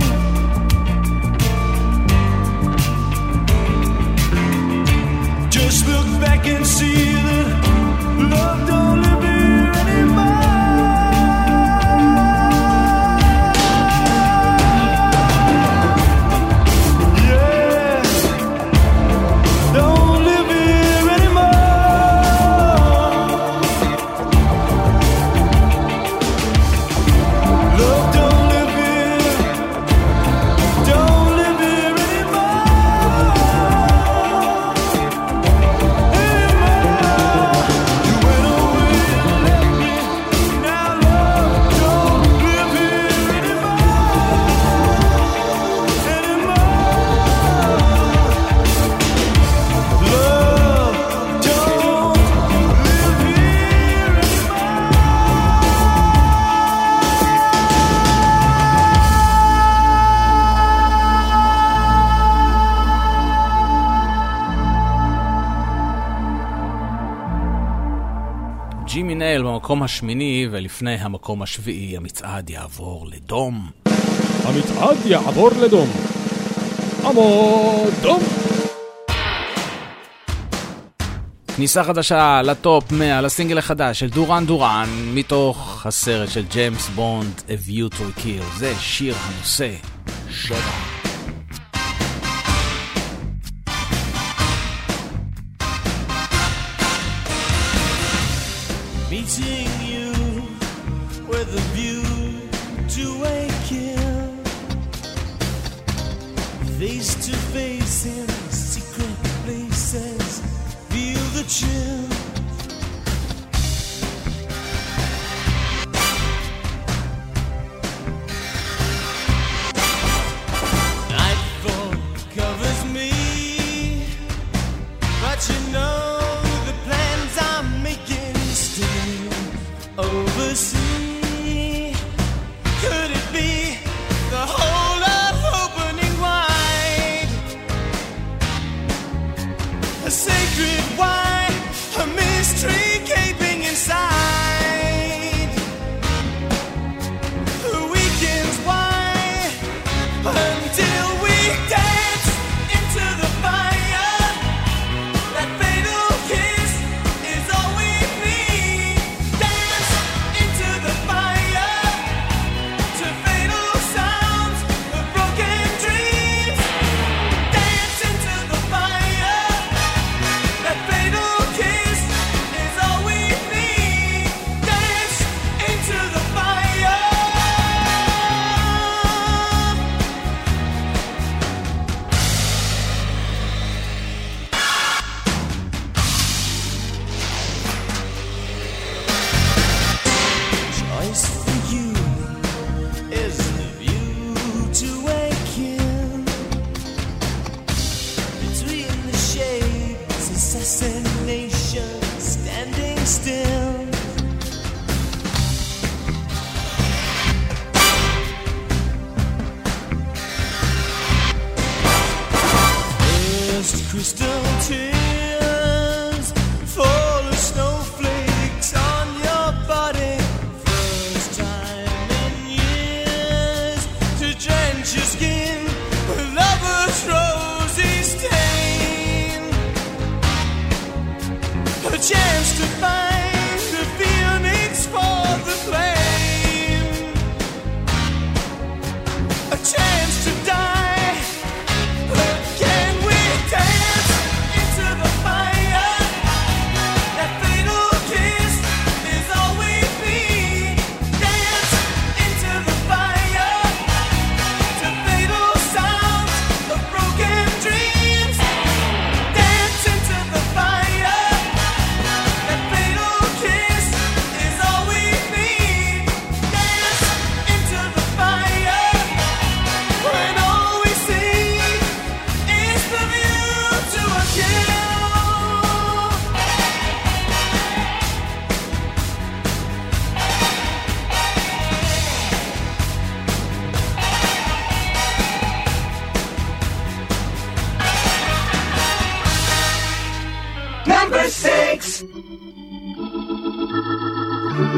Just look back and see that love don't live here anymore. Yeah, don't live here anymore. Love don't live here, don't live here anymore. You went away and left me. Now love don't live here anymore. Love don't live here ג'ימי נייל במקום השמיני, ולפני המקום השביעי המצעד יעבור לדום. המצעד יעבור לדום. עמוד דום. כניסה חדשה לטופ 100 לסינגל החדש של דורן דורן מתוך הסרט של ג'יימס בונד A View to a Kill. זה שיר הנושא 7. meeting you with a view to a kill, face to face in secret places, feel the chill. Nightfall covers me, but you know the plans I'm making still oversee. Could it be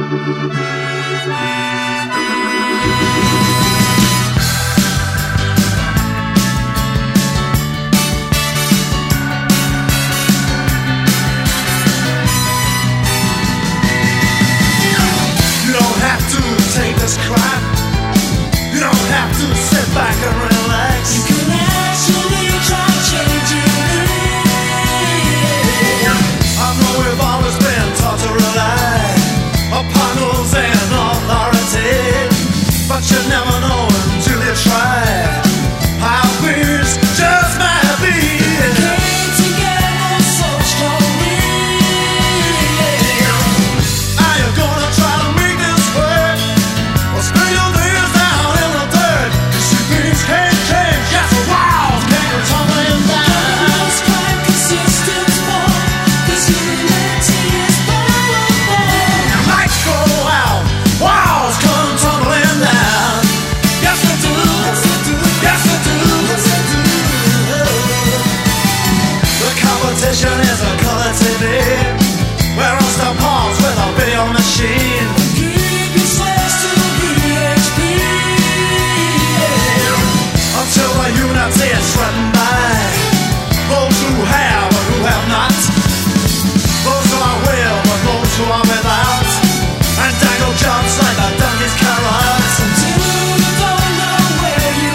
You don't have to take this crap. You don't have to sit back and relax. You can actually try changing it. I know we've always been taught to rely upon rules and authority, but you never know until you try how things just might be. Came together so strongly. Are you gonna try to make this work, or spill your days down in the dirt? You see things can't change, yes the walls can't tumbling down. It's quite consistent for, 'cause unity is powerful. Lights go out, walls come tumbling down. Yes they do, yes they do, yes they do, yes they do. The competition is a color TV. We're on the pause with a video machine. Keep your slaves to BHP until the unity is threatened by those who have or who have not, those who are with or those who are without, and dangle jobs like the donkey's carrots until you don't know where you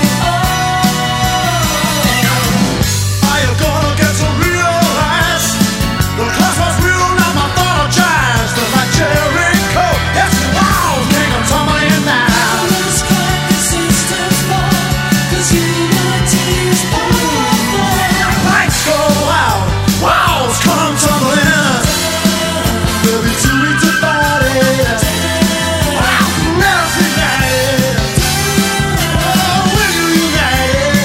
are. Are you gonna get to realize the class was real, not mythologized? Like Jericho, yes, the walls can't come tumbling down. It's quite consistent for, 'cause unity is powerful. Lights go out, walls come tumbling. There'll be too weak to fight it. Wow, never united. Oh, will you unite?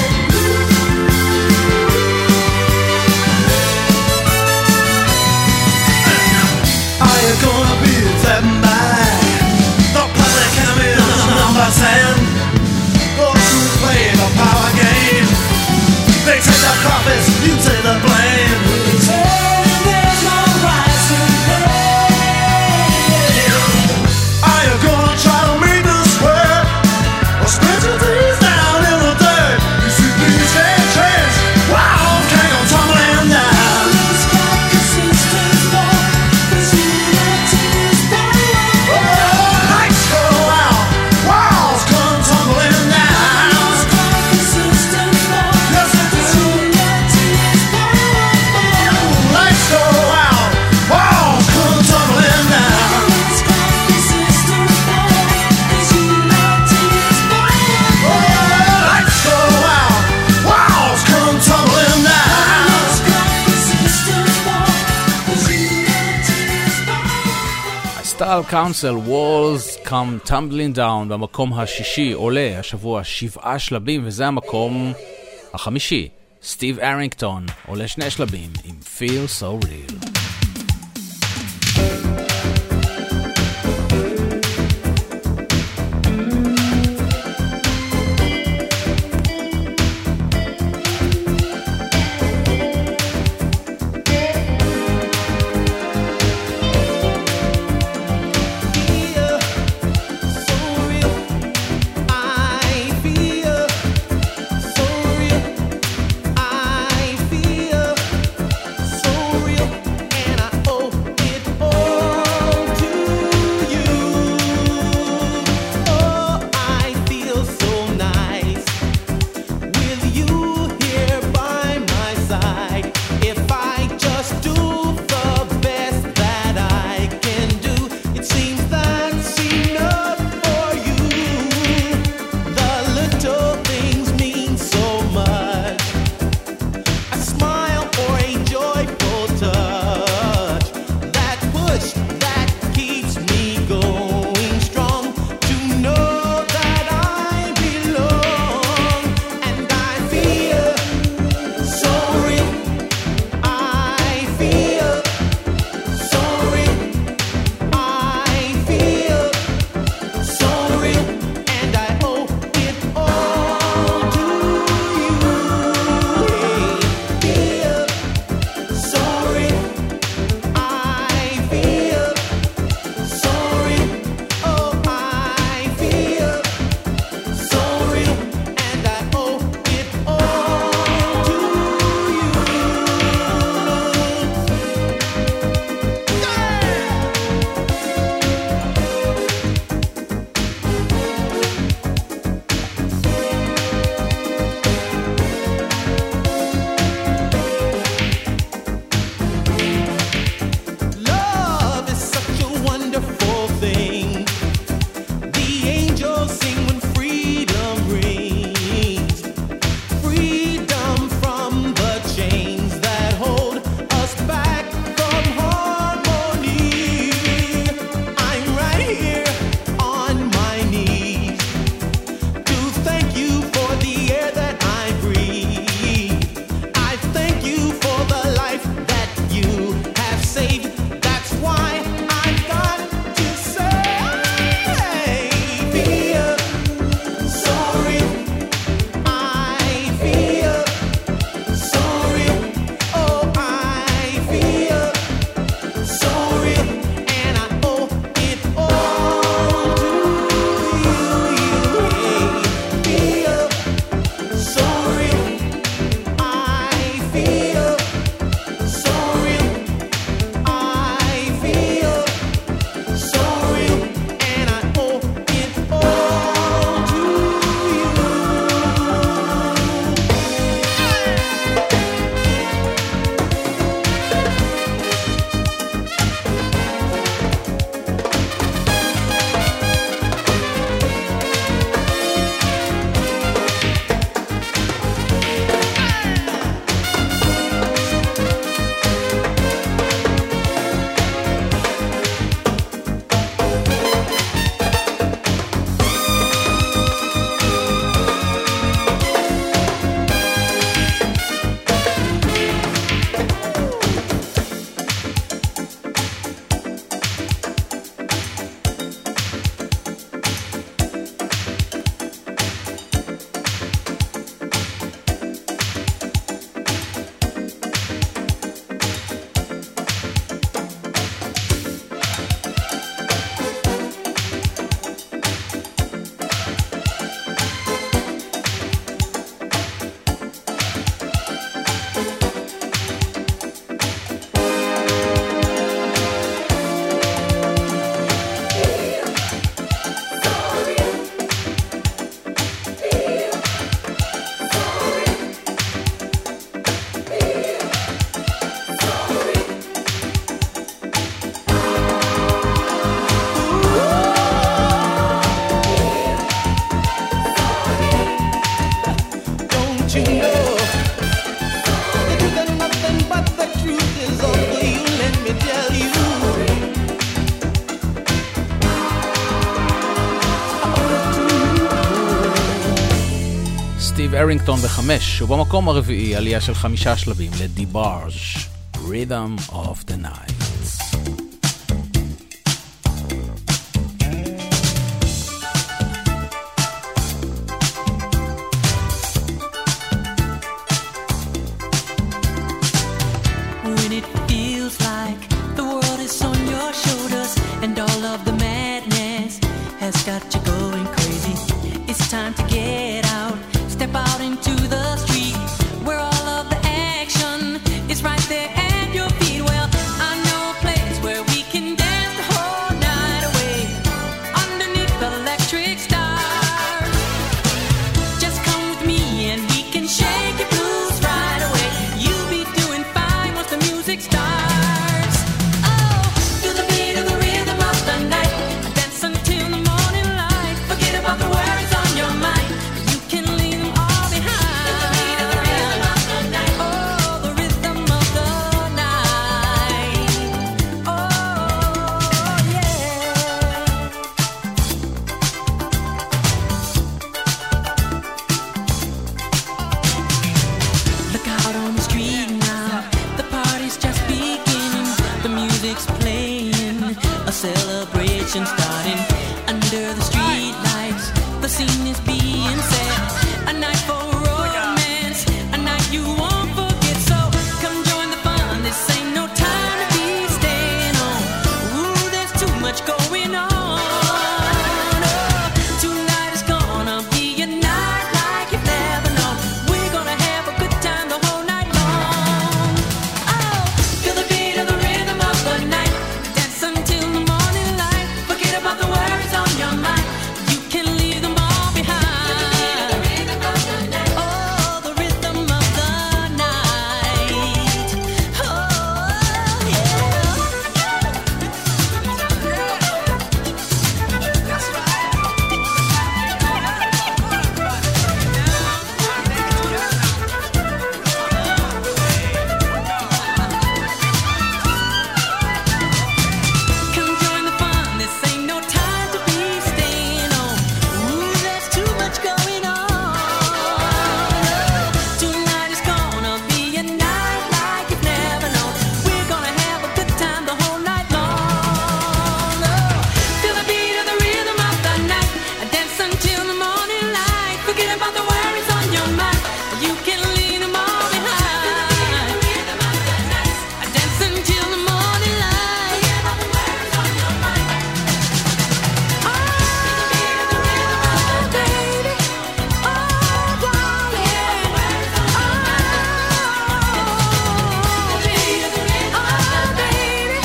Are you gonna be threatened by the public enemy of number 10? Those who play the power game, they take the profits, you take the blame. Saying there's no rising pain. Are you gonna try to make this work, or spread your days down in the dirt? You see things can't change, walls can't go tumbling down. It's quite consistent for, 'cause unity is powerful. Lights go out, walls come tumbling down. It's quite consistent for, yes it is. Unity is powerful. Lights go out, walls come tumbling down. It's quite consistent for, 'cause unity is powerful. Lights go out, walls come tumbling down. It's quite consistent for, 'cause unity is powerful. הסטייל קאונסל, Walls Come Tumbling Down, במקום השישי עולה השבוע 7 שלבים, וזה המקום החמישי. סטיב ארינגטון עולה 2 שלבים עם Feel So Real. I feel so real. סטיב ארינגטון ב5, ובמקום הרביעי עלייה של 5 שלבים לדיבארג' Rhythm of the Night. When it feels like the world is on your shoulders and all of the madness has got you going crazy, it's time to get out, step out into the street where all of the action is right there at your feet. Well, I know a place where we can dance the whole night away underneath the electric stars. Just come with me and we can shake your blues right away. You'll be doing fine once the music starts. Oh, feel the beat of the rhythm of the night. Dance until the morning light. Forget about the worries on your mind. You can leave them all behind. Feel the beat of the rhythm of the night. Oh, the rhythm of the night. Oh, yeah. Look out on the street now, the party's just beginning. The music's playing, a celebration starting. Under the street lights, the scene is being set. A night for romance, a night you won't forget. So come join the fun, this ain't no time to be staying home. Ooh, there's too much going on. Oh, tonight is gonna be a night like you've never known. We're gonna have a good time the whole night long. Oh, feel the beat of the rhythm of the night. Dance until the morning light. Forget about the worries on your mind. You can leave them all behind. Oh, the rhythm of the night. Oh, yeah. Come join the fun, this ain't no time to be staying home. Ooh, there's too much going on. Tonight is gonna be a night like you've never known. We're gonna have a good time the whole night long. Oh, feel the beat of the rhythm of the night. Dance until the morning light. Forget about the worries on your mind. You can leave them all behind. Dance until the morning light. Oh, baby. Oh, darling. Oh, baby.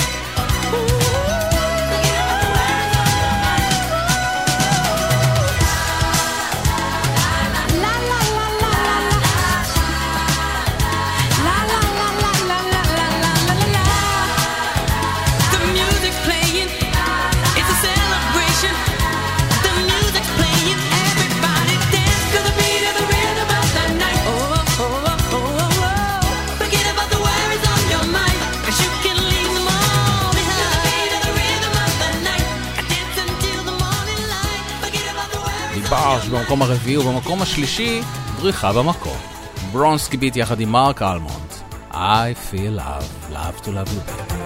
La la la la la la la la la la la la la la. The music's playing, it's a celebration. The music's playing, everybody dance to the beat of the rhythm of the night. Oh, oh, oh, oh, oh, oh. Forget about the worries on your mind, 'cause you can leave them all behind. The beat of the rhythm of the night. Dance until the morning light. Forget about the worries. דיבארג' במקום הרביעי, ובמקום השלישי בריחה במקום. ברונסקי ביט יחד עם מרק אלמונד. I feel love to love you baby.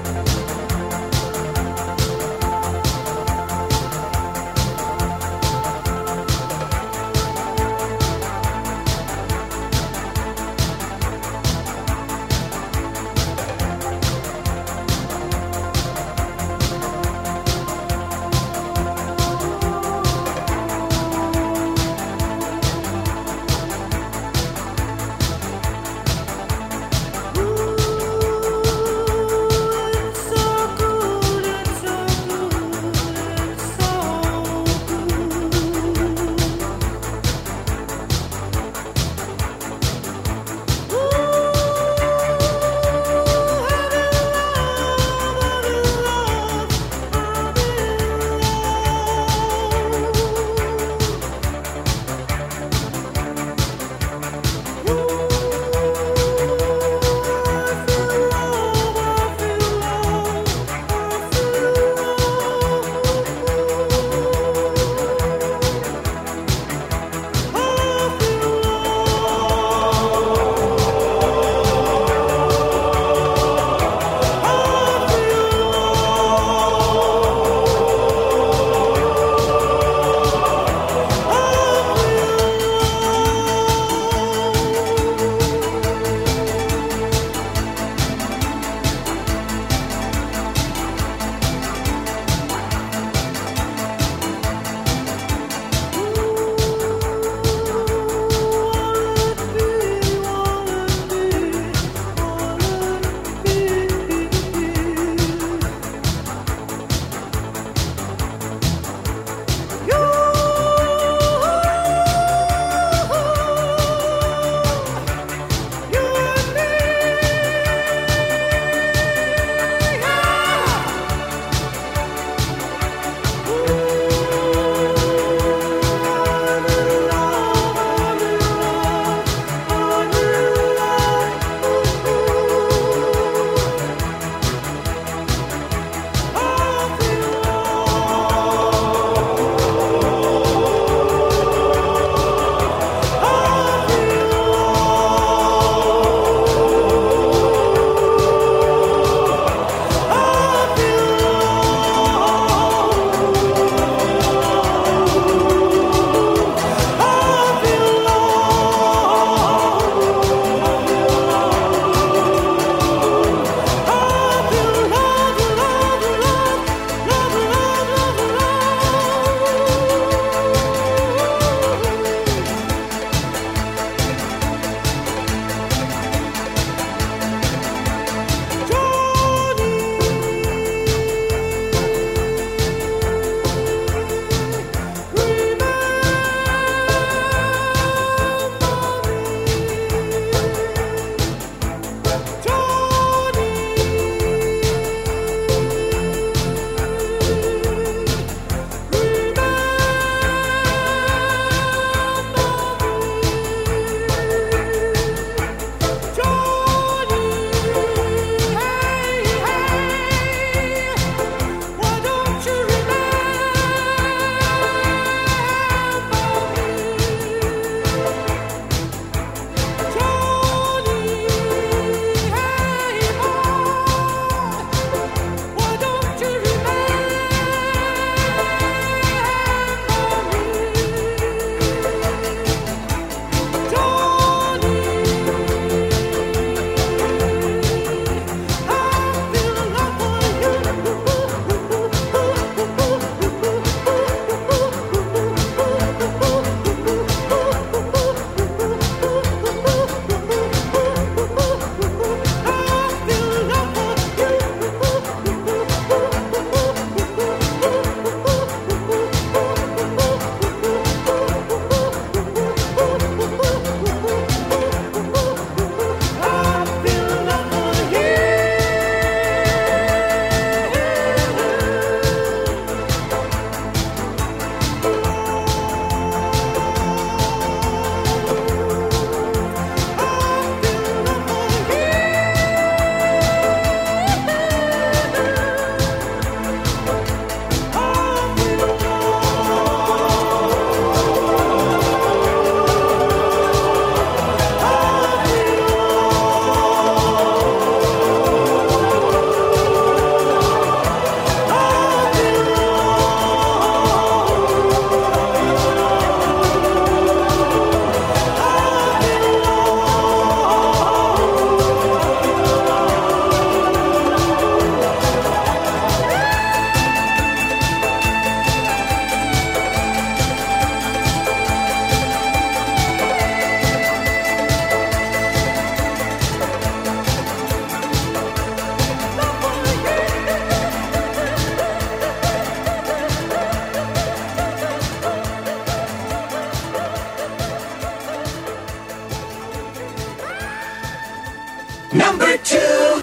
Number 2.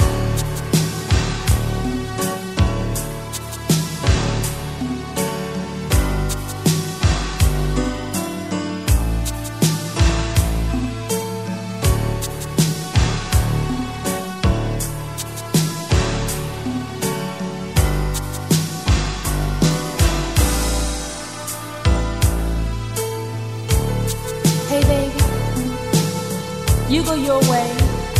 Hey baby, you go your way,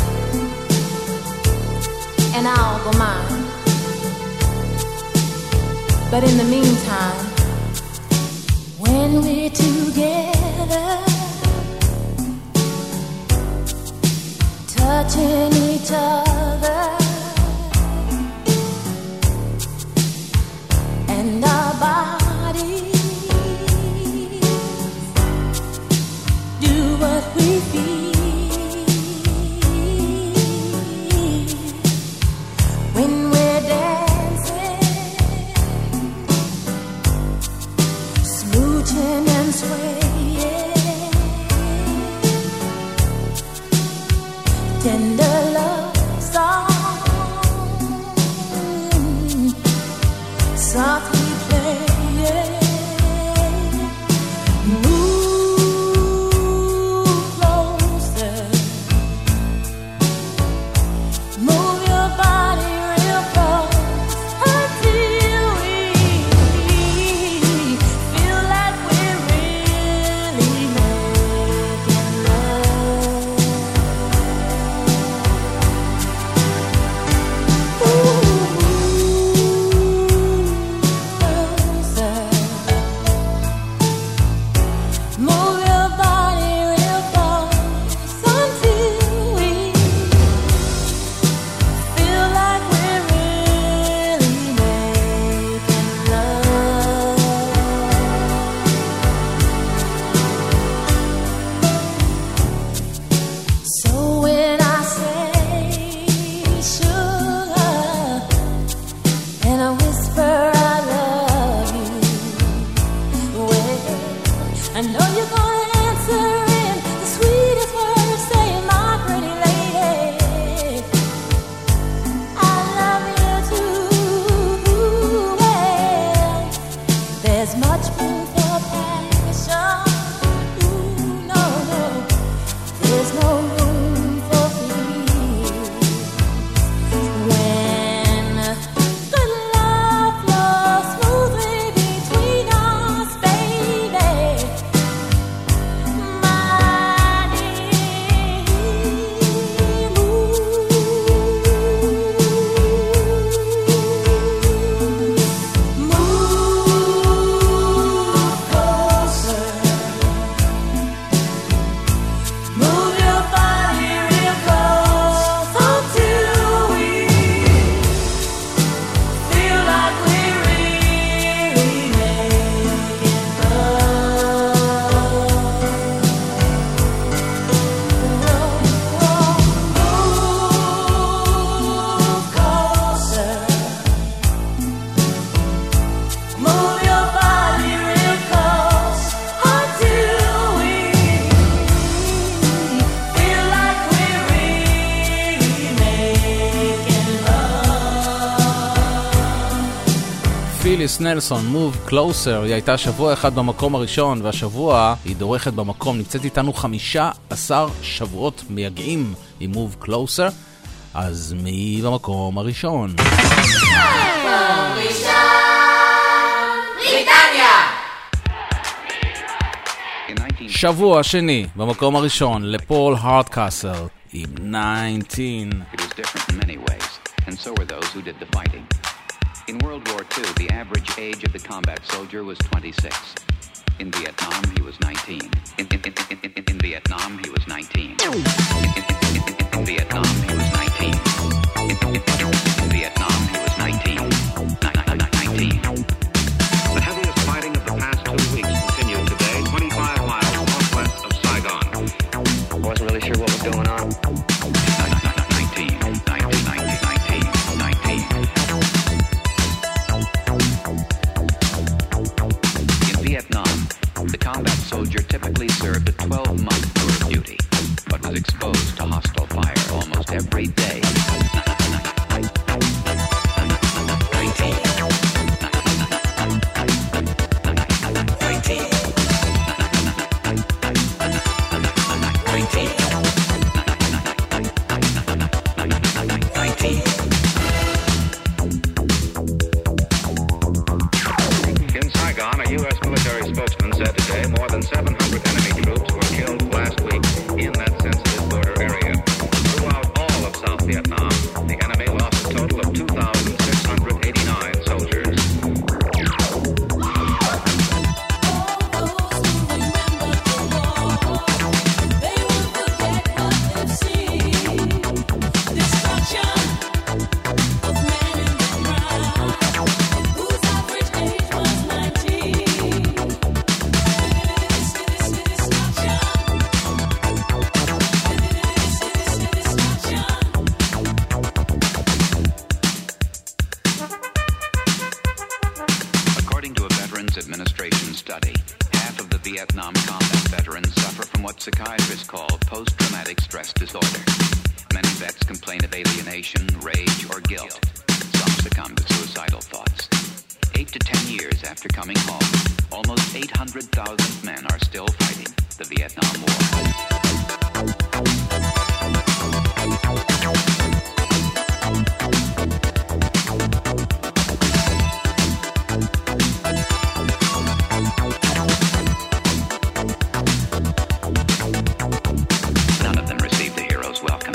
and I'll go mine. But in the meantime, when we're together, touching each other, and our bodies do what we feel when we're dancing, smooching and swaying, tender love song, softly playing. Move your body real close until we feel like we're really making love. Closer. Move your body real close until we feel like we're really making love. So when I say sugar and I whisper I love you, well, I know you're gonna answer in the sweetest words, saying, my pretty lady, I love you too. Well, there's much room for passion. Ooh, no, no, there's no room for fear. When good love flows smoothly between us, baby, my dear, move closer, move your body real close until we feel like we're really making love. Move closer, move your body real close until we feel like we're really making love. פיליס נלסון, Move Closer, היא הייתה שבוע אחד במקום הראשון, והשבוע היא דורכת במקום, נמצאת איתנו 15 שבועות מייגעים עם Move Closer, אז מי במקום הראשון? שבוע שני במקום הראשון לפול הרדקסל עם 19. It was different in many ways, and so were those who did the fighting. In World War II, the average age of the combat soldier was 26. In Vietnam, he was 19. In Vietnam, he was 19. In Vietnam, he was 19. In Vietnam, he was 19. 19. The heaviest fighting of the past 2 weeks continued today, 25 miles northwest of Saigon. I wasn't really sure what was going on. 19. In Vietnam, the combat soldier typically served a 12-month tour of duty, but was exposed to hostile fire almost every day. 19. In Saigon, a U.S. military spokesman said today more than 700 enemy troops were killed last week in that sensitive border area. Throughout all of South Vietnam, the enemy lost a total of 2,689 soldiers. According to a Veterans Administration study, half of the Vietnam combat veterans suffer from what psychiatrists call post-traumatic stress disorder. Many vets complain of alienation, rage, or guilt. Some succumb to suicidal thoughts. 8 to 10 years after coming home, almost 800,000 men are still fighting the Vietnam War. None of them received the hero's welcome.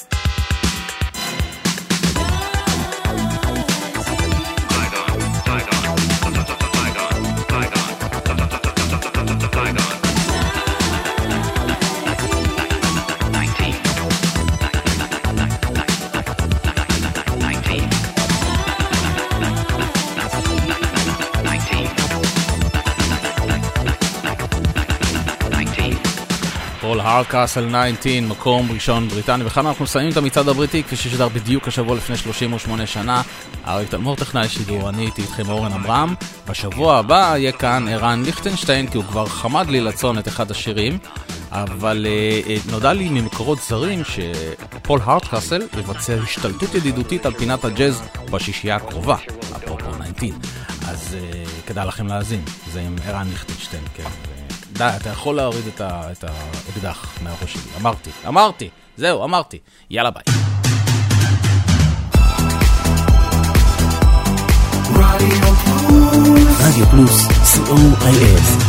פול הרקאסל 19, מקום ראשון בריטניה, וכאן אנחנו מסיימים את המצעד הבריטי כפי ששודר בדיוק השבוע לפני 38 שנה. אריק תלמור טכנאי שידור, אני הייתי איתכם אורן אברהם. בשבוע הבא יהיה כאן ערן ליכטנשטיין, כי הוא כבר חמד לי לצון את אחד השירים, אבל נודע לי ממקורות זרים שפול הרקאסל יבצע השתלטות ידידותית על פינת הג'אז בשישייה הקרובה, אפרופו 19, אז כדאי לכם להאזין, זה עם ערן ליכטנשטיין, כן. די, אתה יכול להוריד את האקדח מהראש שלי. אמרתי, זהו, אמרתי. יאללה ביי. רדיו פלוס, COIF